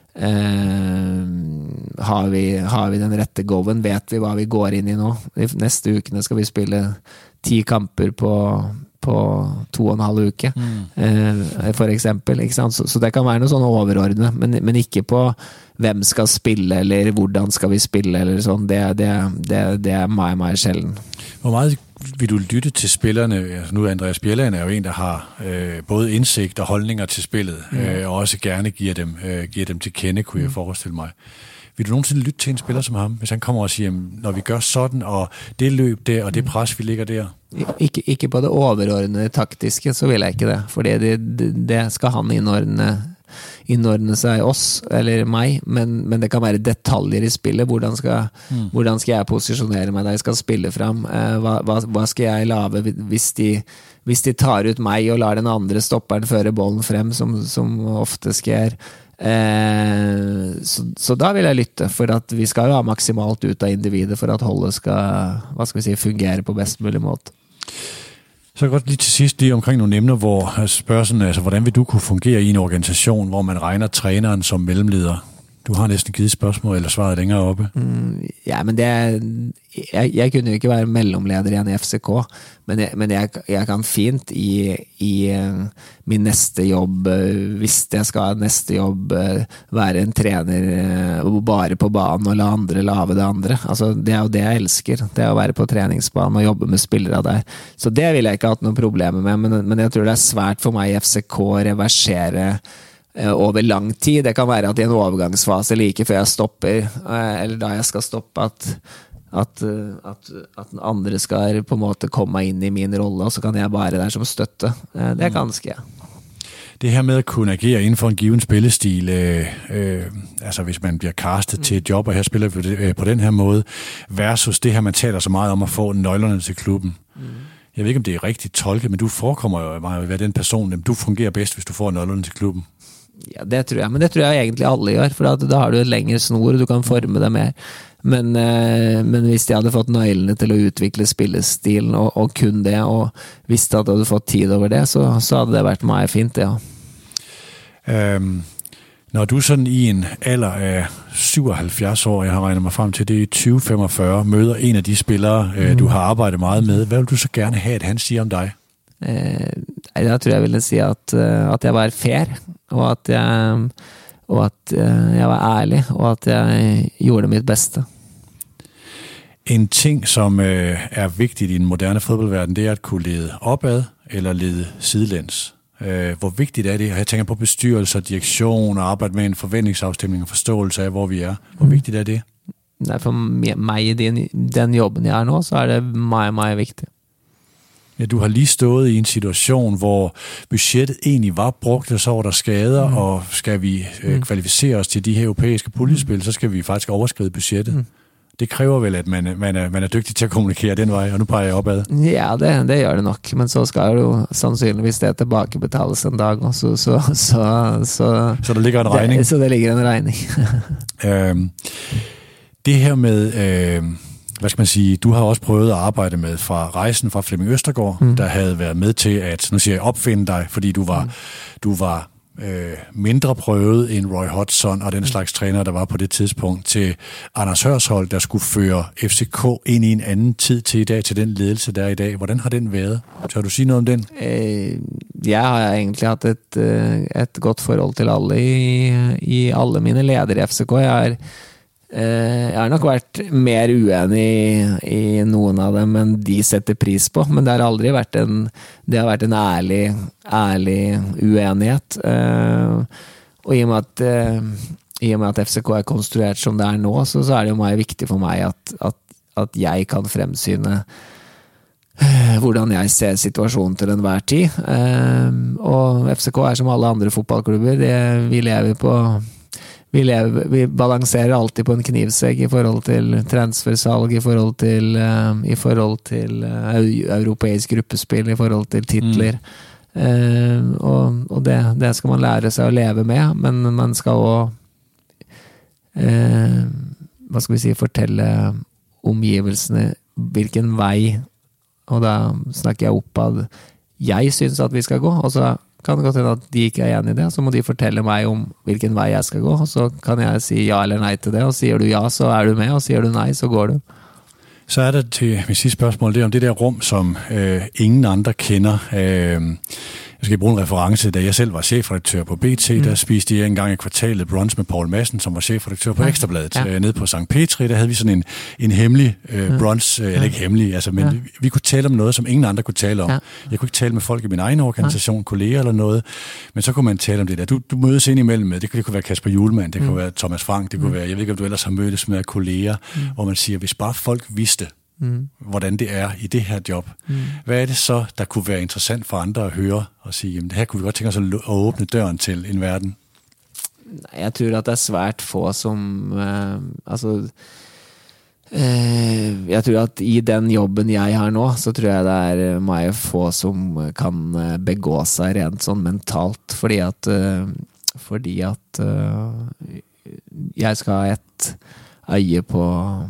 Speaker 3: Uh, har, vi, har vi den rette goven, vet vi hva vi går inn i nå. I neste ukene skal vi spille ti kamper på, på to og en halv uke, mm. uh, for eksempel, ikke sant? Så, så det kan være noe sånn overordnet, men, men ikke på hvem skal spille, eller hvordan skal vi spille, eller sånn. Det, det, det, det er meget, meget sjelden.
Speaker 2: Hvor meget vil du lytte til spillerne? Altså nu er Andreas Bjelland er jo en, der har øh, både indsigt og holdninger til spillet, mm. øh, og også gerne giver dem, øh, giver dem til kende, kunne mm. jeg forestille mig. vil du nogensinde lytte til en spiller som ham, hvis han kommer og siger, når vi gør sådan, og det løb der, og det pres, vi ligger der?
Speaker 3: Ikke, ikke på det overordnede taktiske, så vil jeg ikke det. For det, det, det skal han innordne, innordne seg oss, eller meg, men, men det kan være detaljer i spillet. Hvordan skal, mm. hvordan skal jeg posisjonere meg da jeg skal spille frem? Eh, hva, hva, hva skal jeg lave hvis de, hvis de tar ut meg og lar den andre stopperen føre bollen frem, som, som ofte sker? Eh, så, så da vil jeg lytte, for at vi skal jo ha maksimalt ut av individet for at holdet skal, hva skal vi si, fungere på best mulig måte.
Speaker 2: Så godt lige til sidst lige omkring nogle emner, hvor spørgsmålet, altså hvordan vil du kunne fungere i en organisation, hvor man regner træneren som mellemleder? Du har næsten givet spørgsmål eller svaret længere oppe. Mm,
Speaker 3: ja, men det er, jeg, jeg kunne jo ikke være mellomleder igjen i F C K, men jeg, men jeg, jeg kan fint i, i min neste jobb, hvis jeg skal ha neste jobb, være en trener bare på banen og la andre lave det andre. Altså, det er jo det jeg elsker, det er å være på treningsbanen og jobbe med spillere der. Så det vil jeg ikke ha hatt noen problemer med, men, men jeg tror det er svært for meg i F C K å reversere over lang tid. Det kan være at i en overgangsfase like før jeg stopper, eller da jeg skal stoppe, at, at, at, at den andre skal på en måte komme inn i min rolle, og så kan jeg bare der som støtte. Det er ganske, ja.
Speaker 2: Det her med at kunne agere inden for en given spillestil, øh, øh, altså hvis man bliver castet mm. til et job, og her spiller vi øh, på den her måde, versus det her, man taler så meget om at få nøglerne til klubben. Mm. Jeg ved ikke, om det er rigtigt tolket, men du forekommer jo meget at være den person, du fungerer bedst, hvis du får nøglerne til klubben.
Speaker 3: Ja, det tror jeg, men det tror jeg egentlig alle gjør, for da har du et lengre snor, og du kan forme det mer. Men, eh, men hvis jeg hadde fått nøglene til å utvikle spillestilen, og, og kun det, og visste at jeg hadde fått tid over det, så, så hadde det vært meg fint, ja.
Speaker 2: Um, når du sådan i en alder af syvoghalvfjerds år, jeg har regnet mig frem til, det er tyve femogfyrre, møder en af de spillere, mm. du har arbejdet meget med, hvad vil du så gerne have, at han siger om dig?
Speaker 3: Eh, da tror jeg ville si at, at jeg var fair, og at jeg, og at jeg var ærlig, og at jeg gjorde mitt beste.
Speaker 2: En ting, som øh, er vigtigt i den moderne fodboldverden, det er at kunne lede opad eller lede sidelæns. Øh, hvor vigtigt er det? Jeg tænker på bestyrelse, direktion og arbejde med en forventningsafstemning og forståelse af, hvor vi er. Hvor mm. vigtigt er det?
Speaker 3: Nej, for mig i den, den jobben jeg er nå, så er det meget, meget vigtigt.
Speaker 2: Ja, du har lige stået i en situation, hvor budgettet egentlig var brugt, og så var der skader, mm. og skal vi øh, kvalificere os til de her europæiske puljespil, mm. så skal vi faktisk overskride budgettet. Mm. Det kræver vel, at man, man, er, man er dygtig til at kommunikere den vej, og nu peger jeg opad.
Speaker 3: Ja, det, det gør det nok, men så skal det jo sandsynligvis det tilbakebetales en dag, og så, så, så, så,
Speaker 2: så der ligger en regning.
Speaker 3: Det, så det ligger en regning.
Speaker 2: øhm, det her med... Øh, hvad skal man sige, du har også prøvet at arbejde med fra rejsen fra Flemming Østergaard, mm. der havde været med til at, nu siger jeg, opfinde dig, fordi du var, mm. du var øh, mindre prøvet end Roy Hodgson og den slags træner, der var på det tidspunkt, til Anders Hørsholt, der skulle føre F C K ind i en anden tid til i dag, til den ledelse, der er i dag. Hvordan har den været? Tør du sige noget om den?
Speaker 3: Eh, jeg har egentlig hatt et, et godt forhold til alle i, i alle mine ledere i F C K. Jeg er Jeg har nok vært mer uenig i, i noen av dem enn de setter pris på, men det har aldri vært en, det har vært en ærlig, ærlig uenighet. Og i og med at, i og med at F C K er konstruert som det er nå, så, så er det jo meget viktig for meg at, at, at jeg kan fremsyne hvordan jeg ser situasjonen til enhver tid. Og F C K er som alle andre fotballklubber, det, vi lever på Vi, lever, vi balanserer alltid på en knivsegg i forhold til transfersalg, i forhold til, uh, i forhold til uh, europeisk gruppespill, i forhold til titler. Mm. Uh, og og det, det skal man lære seg å leve med, men man skal også uh, hva skal vi si, fortelle omgivelsene hvilken vei, og da snakker jeg oppad, jeg synes at vi skal gå, og så kan det godt hende at de ikke er enige i det, så må de fortelle meg om hvilken vei jeg skal gå, og så kan jeg si ja eller nei til det, og sier du ja, så er du med, og sier du nei, så går du.
Speaker 2: Så er det til mit sidste spørgsmål, det er om det der rum, som øh, ingen andre kender. Øh, skal bruge en reference. Da jeg selv var chefredaktør på B T, mm. der spiste jeg engang i kvartalet brunch med Poul Madsen, som var chefredaktør på ja. Ekstrabladet. Ja. Nede på Sankt Petri, der havde vi sådan en, en hemmelig øh, brunch, øh, ja. eller ikke hemmelig, altså, men ja. vi, vi kunne tale om noget, som ingen andre kunne tale om. Ja. Jeg kunne ikke tale med folk i min egen organisation, ja. kolleger eller noget, men så kunne man tale om det der. Du, du mødes ind imellem med, det, det kunne være Kasper Hjulmand, det mm. kunne være Thomas Frank, det kunne mm. være, jeg ved ikke, om du ellers har mødtes med kolleger, mm. hvor man siger, hvis bare folk vidste, Mm. hvordan det er i det her job. Mm. Hvad er det så, der kunne være interessant for andre at høre og sige, jamen det her kunne vi godt tænke os at åbne døren til en verden?
Speaker 3: Jeg tror at det er svært få som eh, altså eh, jeg tror at i den jobben jeg har nå, så tror jeg det er meget få som kan begå seg rent sånn mentalt, fordi at eh, fordi at eh, jeg skal ha et øye på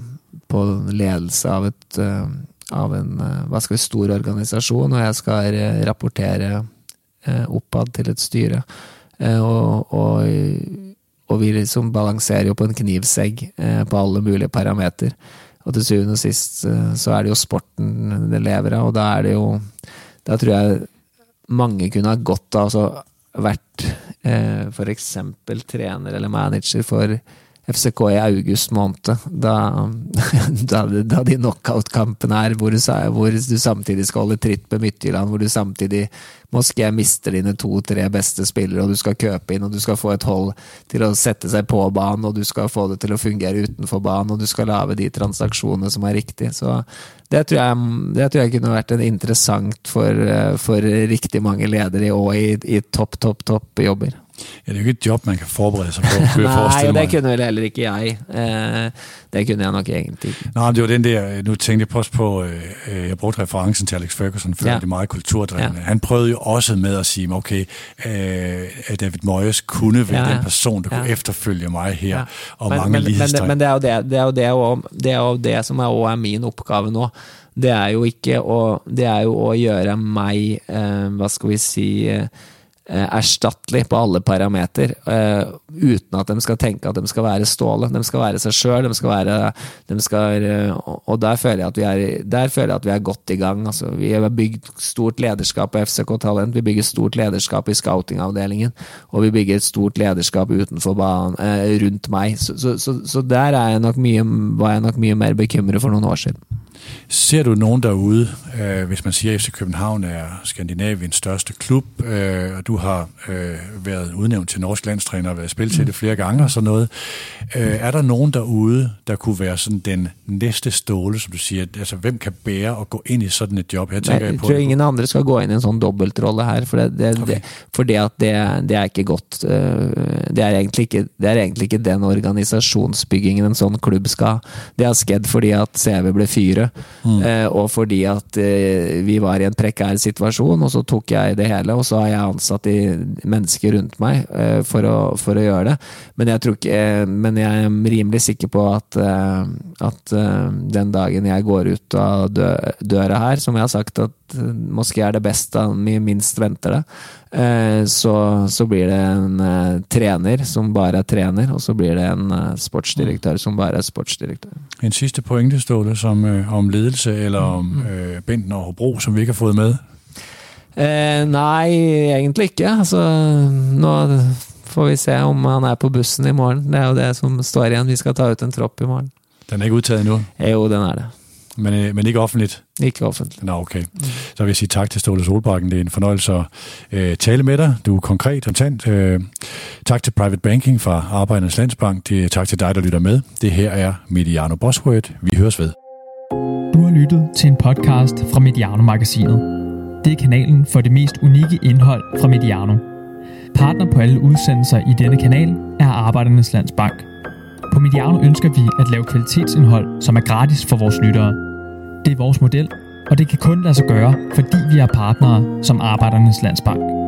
Speaker 3: på ledelse av et uh, av en uh, hva skal vi, stor organisasjon, og jeg skal uh, rapportere uh, oppad til et styre. Uh, og, og, og vi liksom balanserer jo på en knivsegg uh, på alle mulige parameter. Og til syvende og sist uh, så er det jo sporten det lever av, og da er det jo da tror jeg mange kunne ha godt av altså vært uh, for eksempel trener eller manager for F C K i august måned, da, da, da de knockout-kampen er, hvor du, hvor du samtidig skal holde tritt med Midtjylland, hvor du samtidig måske mister dine to-tre beste spillere, og du skal køpe inn, og du skal få et hold til å sette seg på banen, og du skal få det til å fungere utenfor banen, og du skal lave de transaksjonene som er riktige. Så det tror jeg, det tror jeg kunne vært en interessant for, for riktig mange ledere og i, i topp, topp, topp jobber.
Speaker 2: Ja, det er jo ikke et jobb, man kan forberede sig på.
Speaker 3: Nej, og det kunne vel heller ikke jeg. Eh, det kunne jeg nok egentlig.
Speaker 2: Nej, det var den der, nu tænkte jeg også på, øh, jeg brugte referencen til Alex Ferguson før, ja. Det er meget kulturdrivende. Ja. Han prøvede jo også med at sige, okay, øh, at David Moyes kunne være ja. Den person, der ja. Kunne efterfølge mig her, ja. Og men, mange lighedstegn. Men, men det er jo det, det, er jo det, og det er jo det som er, også er min oppgave nå. Det er jo ikke å, det er jo å gjøre meg, eh, hva skal vi si, eh, erstattelig på alle parameter, uh, uten at de skal tenke at de skal være Ståle. De skal være seg selv, de skal være de skal, uh, og der føler jeg at vi er der føler jeg at vi er godt i gang. Altså, vi har bygd stort lederskap på F C K Talent, vi bygger stort lederskap i scoutingavdelingen, og vi bygger et stort lederskap utenfor banen, uh, rundt meg. Så, så, så, så der er jeg nok mye, var jeg nok mye mer bekymret for nogle år siden. Ser du nogen derude, øh, hvis man siger, at F C København er Skandinaviens største klub, øh, og du har øh, været udnævnt til norsk landstræner og været spillet til det flere gange og sådan noget. Øh, er der nogen derude, der kunne være sådan den næste Ståle, som du siger, altså hvem kan bære og gå ind i sådan et job? Jeg, tænker,
Speaker 3: jeg tror det. Ingen andre skal gå ind i en sådan dobbeltrolle her, for det, det, okay. det, fordi at det, det er ikke godt. Det er, egentlig ikke, det er egentlig ikke den organisasjonsbyggingen en sånn klubb skal. Det har skjedd fordi at C V ble fyret. Mm. Uh, og fordi at uh, vi var i en prekær situasjon, og så tok jeg det hele, og så har jeg ansatt de mennesker rundt meg uh, for, å, for å gjøre det. Men jeg tror ikke, uh, men jeg er rimelig sikker på at, uh, at uh, den dagen jeg går ut av dø, døra her, som jeg har sagt at uh, måske er det beste vi minst venter det, uh, så, så blir det en uh, trener som bare er trener, og så blir det en uh, sportsdirektør som bare er sportsdirektør.
Speaker 2: En sidste pointe, Ståle, som uh, om ledelse eller om øh, Benten og Hobro, som vi ikke har fået med?
Speaker 3: Eh, nej, egentlig ikke. Altså, nå får vi se om han er på bussen i morgen. Det er jo det som står igjen. Vi skal ta ut en tropp i morgen.
Speaker 2: Den er ikke udtaget endnu?
Speaker 3: Jo, den er det.
Speaker 2: Men, øh, men ikke offentligt?
Speaker 3: Ikke offentligt.
Speaker 2: Nå, okay. Mm. Så vil jeg sige tak til Ståle Solbakken. Det er en fornøjelse at øh, tale med dig. Du er konkret og kontant. Øh, tak til Private Banking fra Arbejdernes Landsbank. Det er tak til dig, der lytter med. Det her er Mediano Buzzword. Vi høres ved.
Speaker 1: Du har lyttet til en podcast fra Mediano-magasinet. Det er kanalen for det mest unikke indhold fra Mediano. Partner på alle udsendelser i denne kanal er Arbejdernes Landsbank. På Mediano ønsker vi at lave kvalitetsindhold, som er gratis for vores lyttere. Det er vores model, og det kan kun lade sig gøre, fordi vi er partnere som Arbejdernes Landsbank.